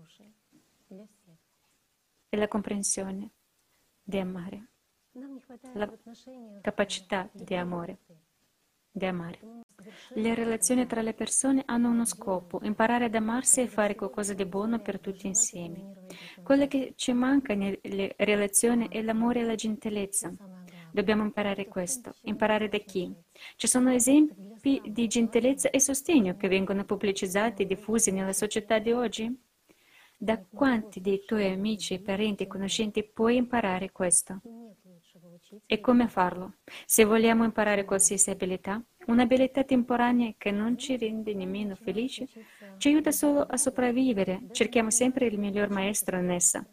e la comprensione di amare, la capacità di amore, di amare. Le relazioni tra le persone hanno uno scopo: imparare ad amarsi e fare qualcosa di buono per tutti insieme. Quello che ci manca nelle relazioni è l'amore e la gentilezza. Dobbiamo imparare questo. Imparare da chi? Ci sono esempi di gentilezza e sostegno che vengono pubblicizzati e diffusi nella società di oggi? Da quanti dei tuoi amici, parenti e conoscenti puoi imparare questo? E come farlo? Se vogliamo imparare qualsiasi abilità, un'abilità temporanea che non ci rende nemmeno felici, ci aiuta solo a sopravvivere. Cerchiamo sempre il miglior maestro in essa,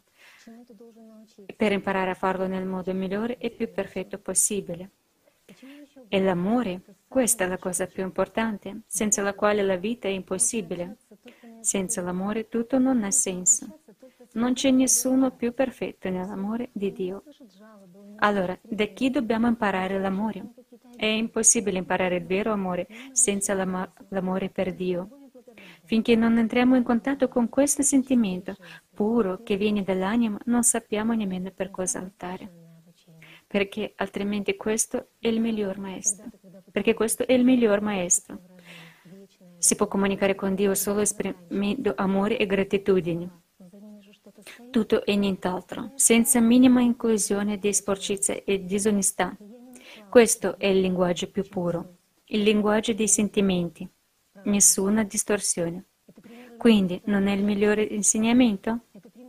per imparare a farlo nel modo migliore e più perfetto possibile. E l'amore, questa è la cosa più importante, senza la quale la vita è impossibile. Senza l'amore tutto non ha senso. Non c'è nessuno più perfetto nell'amore di Dio. Allora, da chi dobbiamo imparare l'amore? È impossibile imparare il vero amore senza l'am- l'amore per Dio. Finché non entriamo in contatto con questo sentimento puro che viene dall'anima, non sappiamo nemmeno per cosa lottare. Perché altrimenti questo è il miglior maestro. Perché questo è il miglior maestro. Si può comunicare con Dio solo esprimendo amore e gratitudine. Tutto e nient'altro, senza minima inclusione di sporcizia e disonestà. Questo è il linguaggio più puro, il linguaggio dei sentimenti. Nessuna distorsione. Quindi non è il migliore insegnamento?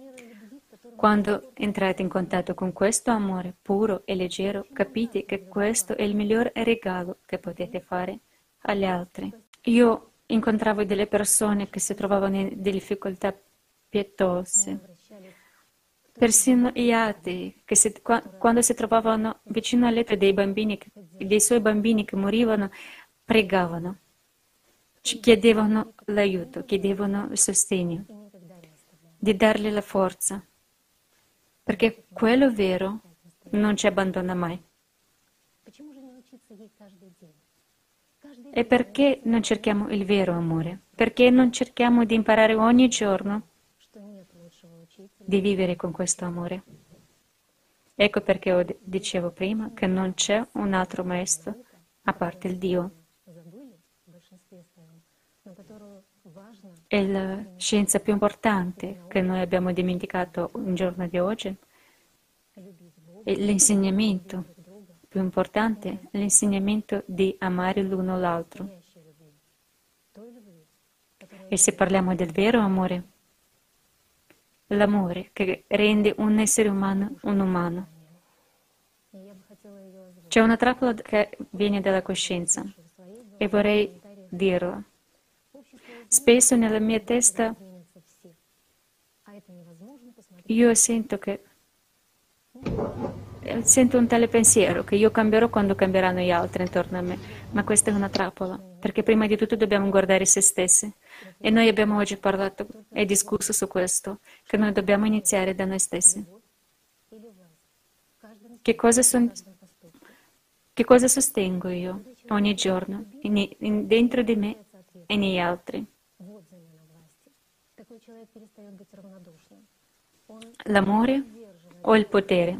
Quando entrate in contatto con questo amore puro e leggero, capite che questo è il miglior regalo che potete fare agli altri. Io incontravo delle persone che si trovavano in delle difficoltà pietose, persino gli atei, che si, quando si trovavano vicino al letto dei bambini, dei suoi bambini che morivano, pregavano, ci chiedevano l'aiuto, chiedevano il sostegno, di dargli la forza, perché quello vero non ci abbandona mai. E perché non cerchiamo il vero amore? Perché non cerchiamo di imparare ogni giorno di vivere con questo amore? Ecco perché io dicevo prima che non c'è un altro maestro a parte il Dio. È la scienza più importante che noi abbiamo dimenticato un giorno di oggi. È l'insegnamento più importante, l'insegnamento di amare l'uno l'altro. E se parliamo del vero amore, l'amore che rende un essere umano un umano. C'è una trappola che viene dalla coscienza e vorrei dirla. Spesso nella mia testa io sento che eh, sento un tale pensiero che io cambierò quando cambieranno gli altri intorno a me, ma questa è una trappola, perché prima di tutto dobbiamo guardare se stessi. E noi abbiamo oggi parlato e discusso su questo, che noi dobbiamo iniziare da noi stessi. Che cosa, son, che cosa sostengo io ogni giorno, in, in, dentro di me e negli altri? L'amore o il potere?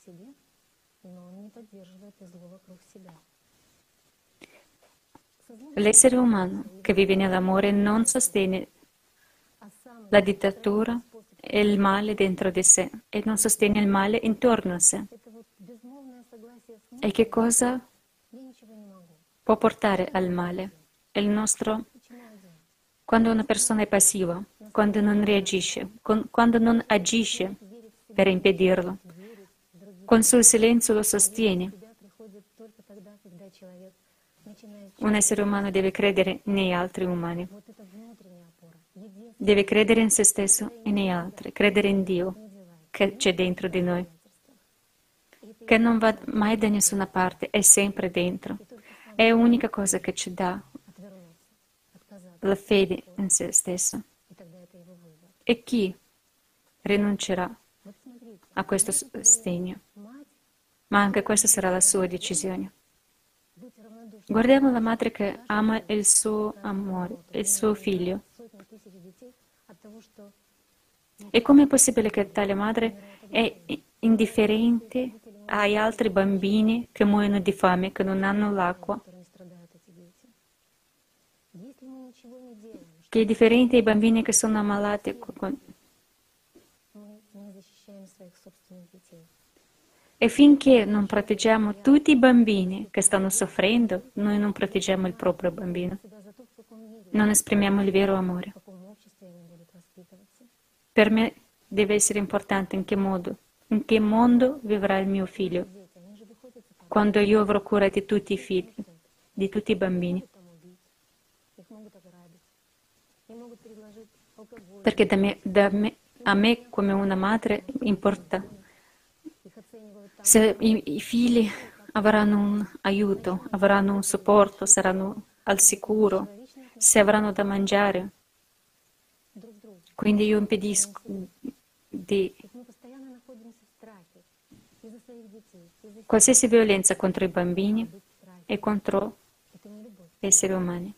L'essere umano che vive nell'amore non sostiene la dittatura e il male dentro di sé e non sostiene il male intorno a sé. E che cosa può portare al male? È il nostro... Quando una persona è passiva, quando non reagisce, quando non agisce per impedirlo, con suo silenzio lo sostiene. Un essere umano deve credere negli altri umani, deve credere in se stesso e negli altri, credere in Dio che c'è dentro di noi, che non va mai da nessuna parte, è sempre dentro. È l'unica cosa che ci dà la fede in se stesso. E chi rinuncerà a questo sostegno? Ma anche questa sarà la sua decisione. Guardiamo la madre che ama il suo amore, il suo figlio. E com'è possibile che tale madre è indifferente agli altri bambini che muoiono di fame, che non hanno l'acqua? Che è differente ai bambini che sono ammalati? E finché non proteggiamo tutti i bambini che stanno soffrendo, noi non proteggiamo il proprio bambino. Non esprimiamo il vero amore. Per me deve essere importante in che modo, in che mondo vivrà il mio figlio, quando io avrò cura di tutti i figli, di tutti i bambini. Perché da me, da me, a me come una madre importa se i, i figli avranno un aiuto, avranno un supporto, saranno al sicuro, se avranno da mangiare. Quindi io impedisco di qualsiasi violenza contro i bambini e contro gli esseri umani.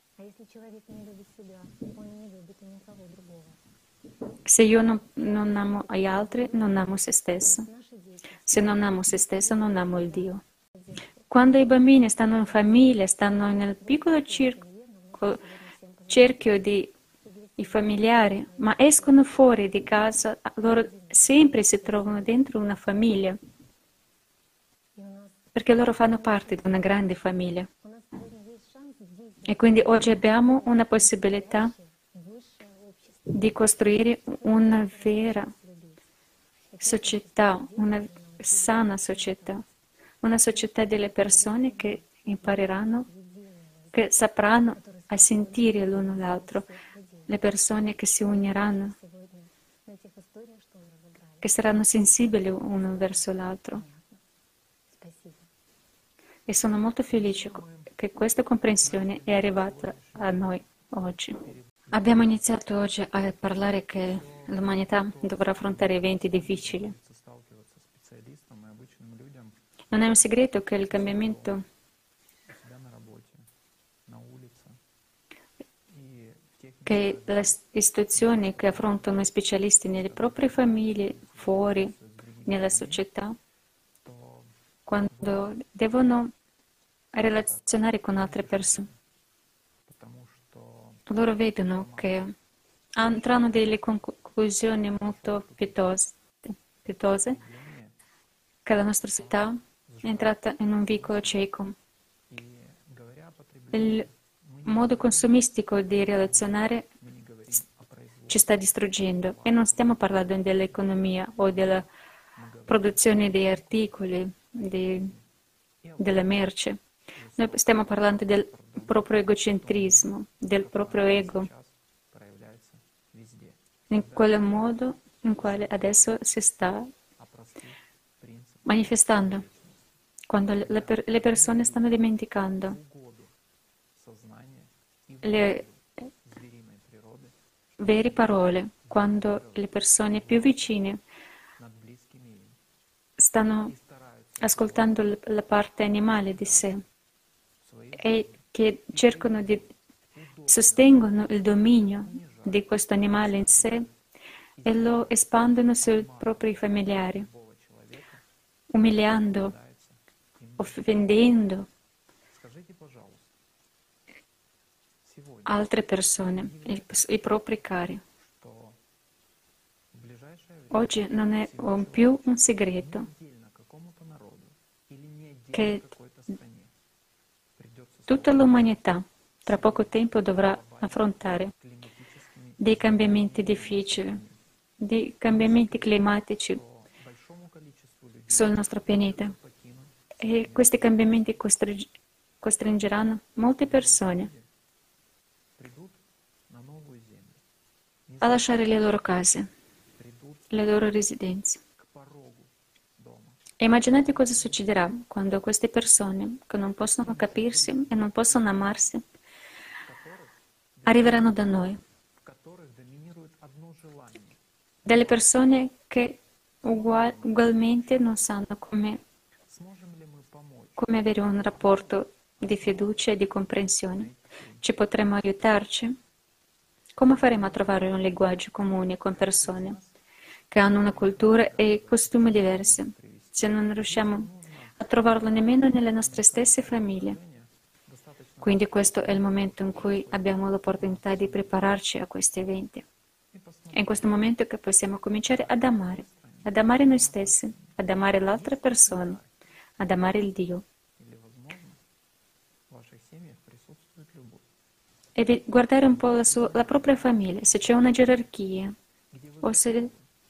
Se io non, non amo gli altri, non amo se stesso. Se non amo se stesso, non amo il Dio. Quando i bambini stanno in famiglia, stanno nel piccolo circo, cerchio di i familiari, ma escono fuori di casa, loro sempre si trovano dentro una famiglia, perché loro fanno parte di una grande famiglia. E quindi oggi abbiamo una possibilità di costruire una vera società, una sana società, una società delle persone che impareranno, che sapranno a sentire l'uno l'altro, le persone che si uniranno, che saranno sensibili uno verso l'altro. E sono molto felice che questa comprensione è arrivata a noi oggi. Abbiamo iniziato oggi a parlare che l'umanità dovrà affrontare eventi difficili. Non è un segreto che il cambiamento che le istituzioni che affrontano i specialisti nelle proprie famiglie, fuori, nella società, quando devono relazionare con altre persone, loro vedono che hanno delle conclusioni molto pietose, pietose, che la nostra società è entrata in un vicolo cieco. Il modo consumistico di relazionare ci sta distruggendo e non stiamo parlando dell'economia o della produzione di articoli, di, della merce. Noi stiamo parlando del proprio egocentrismo, del proprio ego, in quel modo in quale adesso si sta manifestando, quando le, per, le persone stanno dimenticando le vere parole, quando le persone più vicine stanno ascoltando la parte animale di sé e che cercano di sostengono il dominio di questo animale in sé e lo espandono sui propri familiari, umiliando, offendendo altre persone, i, i propri cari. Oggi non è un più un segreto che tutta l'umanità tra poco tempo dovrà affrontare dei cambiamenti difficili, dei cambiamenti climatici sul nostro pianeta. E questi cambiamenti costringeranno molte persone a lasciare le loro case, le loro residenze. E immaginate cosa succederà quando queste persone, che non possono capirsi e non possono amarsi, arriveranno da noi. Delle persone che ugual, ugualmente non sanno come, come avere un rapporto di fiducia e di comprensione. Ci potremmo aiutarci? Come faremo a trovare un linguaggio comune con persone che hanno una cultura e costumi diversi, se non riusciamo a trovarlo nemmeno nelle nostre stesse famiglie? Quindi questo è il momento in cui abbiamo l'opportunità di prepararci a questi eventi. È in questo momento che possiamo cominciare ad amare, ad amare noi stessi, ad amare l'altra persona, ad amare il Dio. E guardare un po' la, sua, la propria famiglia, se c'è una gerarchia, o se,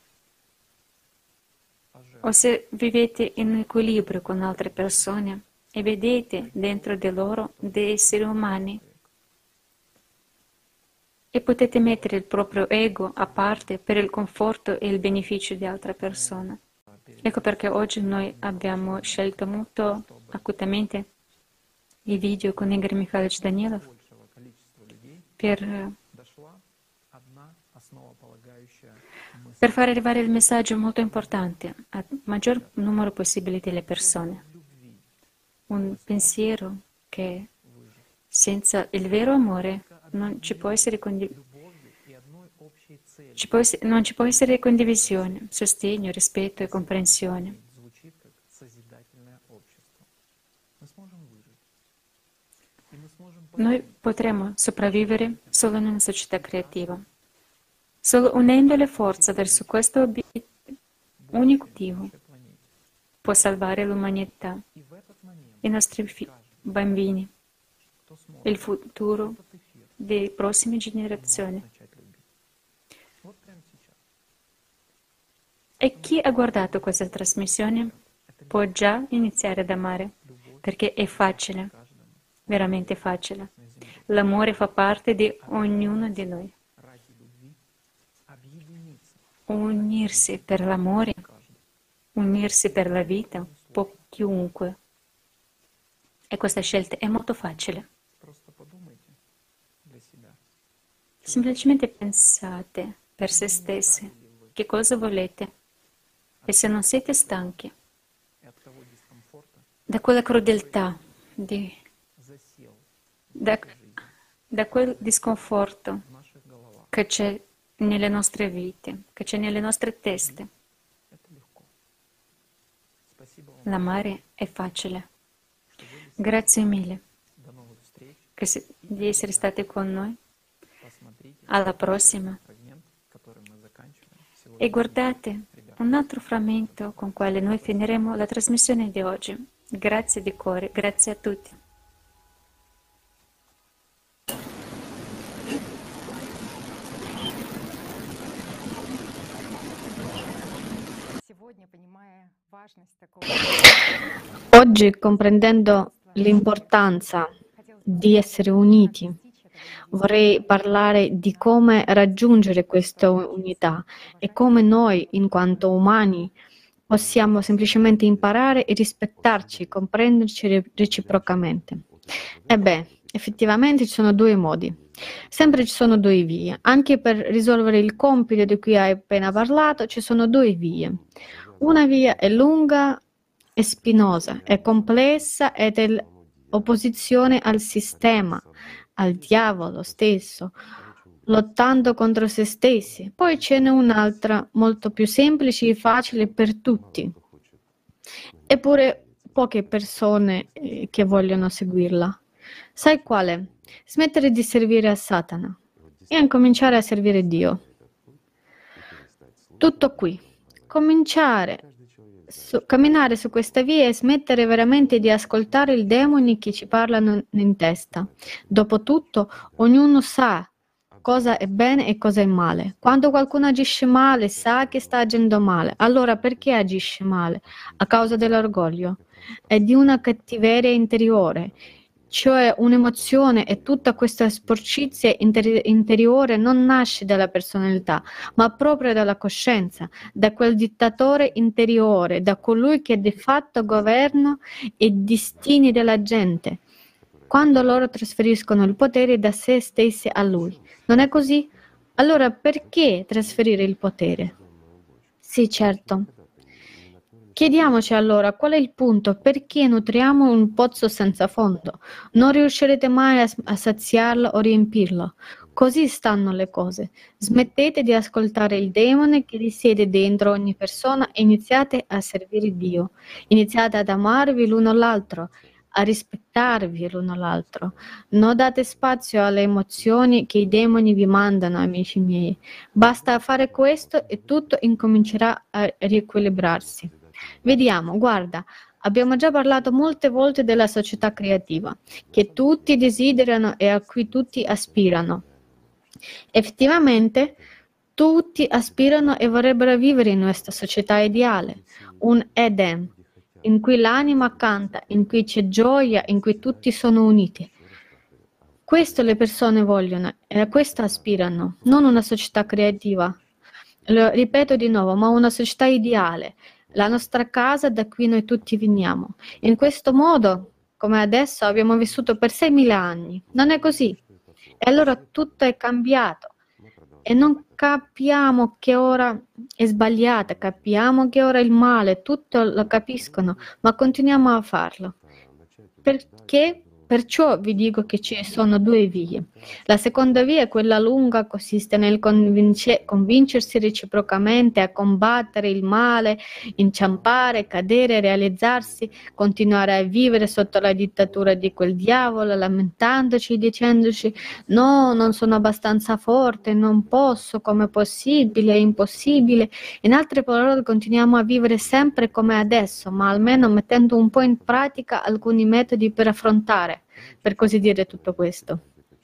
o se vivete in equilibrio con altre persone e vedete dentro di loro dei esseri umani e potete mettere il proprio ego a parte per il conforto e il beneficio di altre persone. Ecco perché oggi noi abbiamo scelto molto acutamente i video con Igor Mikhailovich Danilov per, per far arrivare il messaggio molto importante al maggior numero possibile delle persone. Un pensiero che senza il vero amore non ci può essere, condiv- ci può essere, non ci può essere condivisione, sostegno, rispetto e comprensione. Noi potremo sopravvivere solo in una società creativa. Solo unendo le forze verso questo obiettivo unico può salvare l'umanità, i nostri fi- bambini, il futuro delle prossime generazioni. E chi ha guardato questa trasmissione può già iniziare ad amare, perché è facile, veramente facile. L'amore fa parte di ognuno di noi. Unirsi per l'amore, unirsi per la vita, può chiunque. E questa scelta è molto facile. Semplicemente pensate per se stessi che cosa volete e se non siete stanchi da quella crudeltà, di, da, da quel disconforto che c'è nelle nostre vite, che c'è nelle nostre teste. L'amare è facile. Grazie mille che si, di essere stati con noi. Alla prossima. E guardate un altro frammento con quale noi finiremo la trasmissione di oggi. Grazie di cuore, grazie a tutti. Oggi, comprendendo l'importanza di essere uniti, vorrei parlare di come raggiungere questa unità e come noi, in quanto umani, Possiamo semplicemente imparare e rispettarci, comprenderci reciprocamente. E beh, effettivamente ci sono due modi. Sempre ci sono due vie. Anche per risolvere il compito di cui hai appena parlato, ci sono due vie. Una via è lunga e spinosa, è complessa ed è l'opposizione al sistema, al diavolo stesso, lottando contro se stessi. Poi ce n'è un'altra, molto più semplice e facile per tutti. Eppure poche persone eh, che vogliono seguirla. Sai quale? Smettere di servire a Satana e incominciare a servire Dio. Tutto qui. Cominciare, su, camminare su questa via e smettere veramente di ascoltare i demoni che ci parlano in testa. Dopotutto, ognuno sa cosa è bene e cosa è male. Quando qualcuno agisce male, sa che sta agendo male. Allora perché agisce male? A causa dell'orgoglio e di una cattiveria interiore. Cioè un'emozione e tutta questa sporcizia interi- interiore non nasce dalla personalità, ma proprio dalla coscienza, da quel dittatore interiore, da colui che di fatto governa i destini della gente, quando loro trasferiscono il potere da se stessi a lui. Non è così? Allora perché trasferire il potere? Sì, certo. Chiediamoci allora qual è il punto, perché nutriamo un pozzo senza fondo? Non riuscirete mai a, a saziarlo o riempirlo. Così stanno le cose. Smettete di ascoltare il demone che risiede dentro ogni persona e iniziate a servire Dio. Iniziate ad amarvi l'uno l'altro, a rispettarvi l'uno l'altro. Non date spazio alle emozioni che i demoni vi mandano, amici miei. Basta fare questo e tutto incomincerà a riequilibrarsi. Vediamo, guarda, abbiamo già parlato molte volte della società creativa, che tutti desiderano e a cui tutti aspirano. Effettivamente, tutti aspirano e vorrebbero vivere in questa società ideale, un Eden, in cui l'anima canta, in cui c'è gioia, in cui tutti sono uniti. Questo le persone vogliono e a questo aspirano, non una società creativa. Lo ripeto di nuovo, ma una società ideale. La nostra casa da cui noi tutti veniamo. In questo modo, come adesso, abbiamo vissuto per seimila anni. Non è così. E allora tutto è cambiato. E non capiamo che ora è sbagliata, capiamo che ora è il male, tutto lo capiscono, ma continuiamo a farlo. Perché? Perciò vi dico che ci sono due vie. La seconda via è quella lunga, consiste nel convince- convincersi reciprocamente a combattere il male, inciampare, cadere, realizzarsi, continuare a vivere sotto la dittatura di quel diavolo, lamentandoci, dicendoci no, non sono abbastanza forte, non posso, com'è possibile, è impossibile. In altre parole, continuiamo a vivere sempre come adesso, ma almeno mettendo un po' in pratica alcuni metodi per affrontare, per così dire, tutto questo.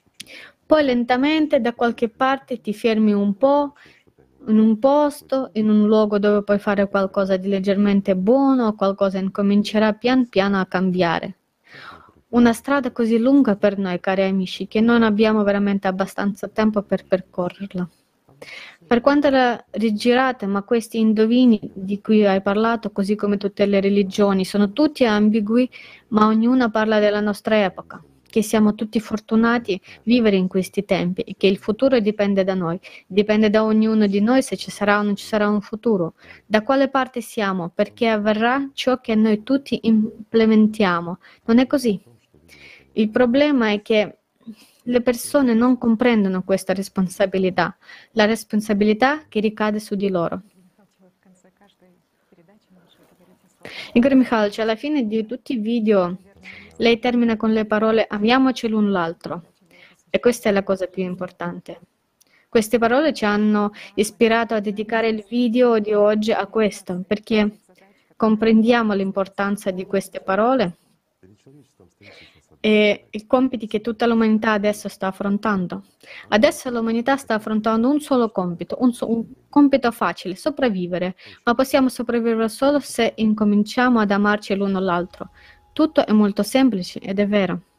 Poi lentamente da qualche parte ti fermi un po', in un posto, in un luogo dove puoi fare qualcosa di leggermente buono, qualcosa incomincerà pian piano a cambiare. Una strada così lunga per noi, cari amici, che non abbiamo veramente abbastanza tempo per percorrerla. Per quanto la rigirate, ma questi indovini di cui hai parlato, così come tutte le religioni, sono tutti ambigui, ma ognuna parla della nostra epoca, che siamo tutti fortunati a vivere in questi tempi e che il futuro dipende da noi, dipende da ognuno di noi se ci sarà o non ci sarà un futuro. Da quale parte siamo? Perché avverrà ciò che noi tutti implementiamo. Non è così. Il problema è che le persone non comprendono questa responsabilità, la responsabilità che ricade su di loro. Igor Mikhailovich, alla fine di tutti i video lei termina con le parole amiamoci l'un l'altro e questa è la cosa più importante. Queste parole ci hanno ispirato a dedicare il video di oggi a questo, perché comprendiamo l'importanza di queste parole e i compiti che tutta l'umanità adesso sta affrontando. Adesso l'umanità sta affrontando un solo compito, un, so, un compito facile, sopravvivere, ma possiamo sopravvivere solo se incominciamo ad amarci l'uno l'altro. Tutto è molto semplice ed è vero.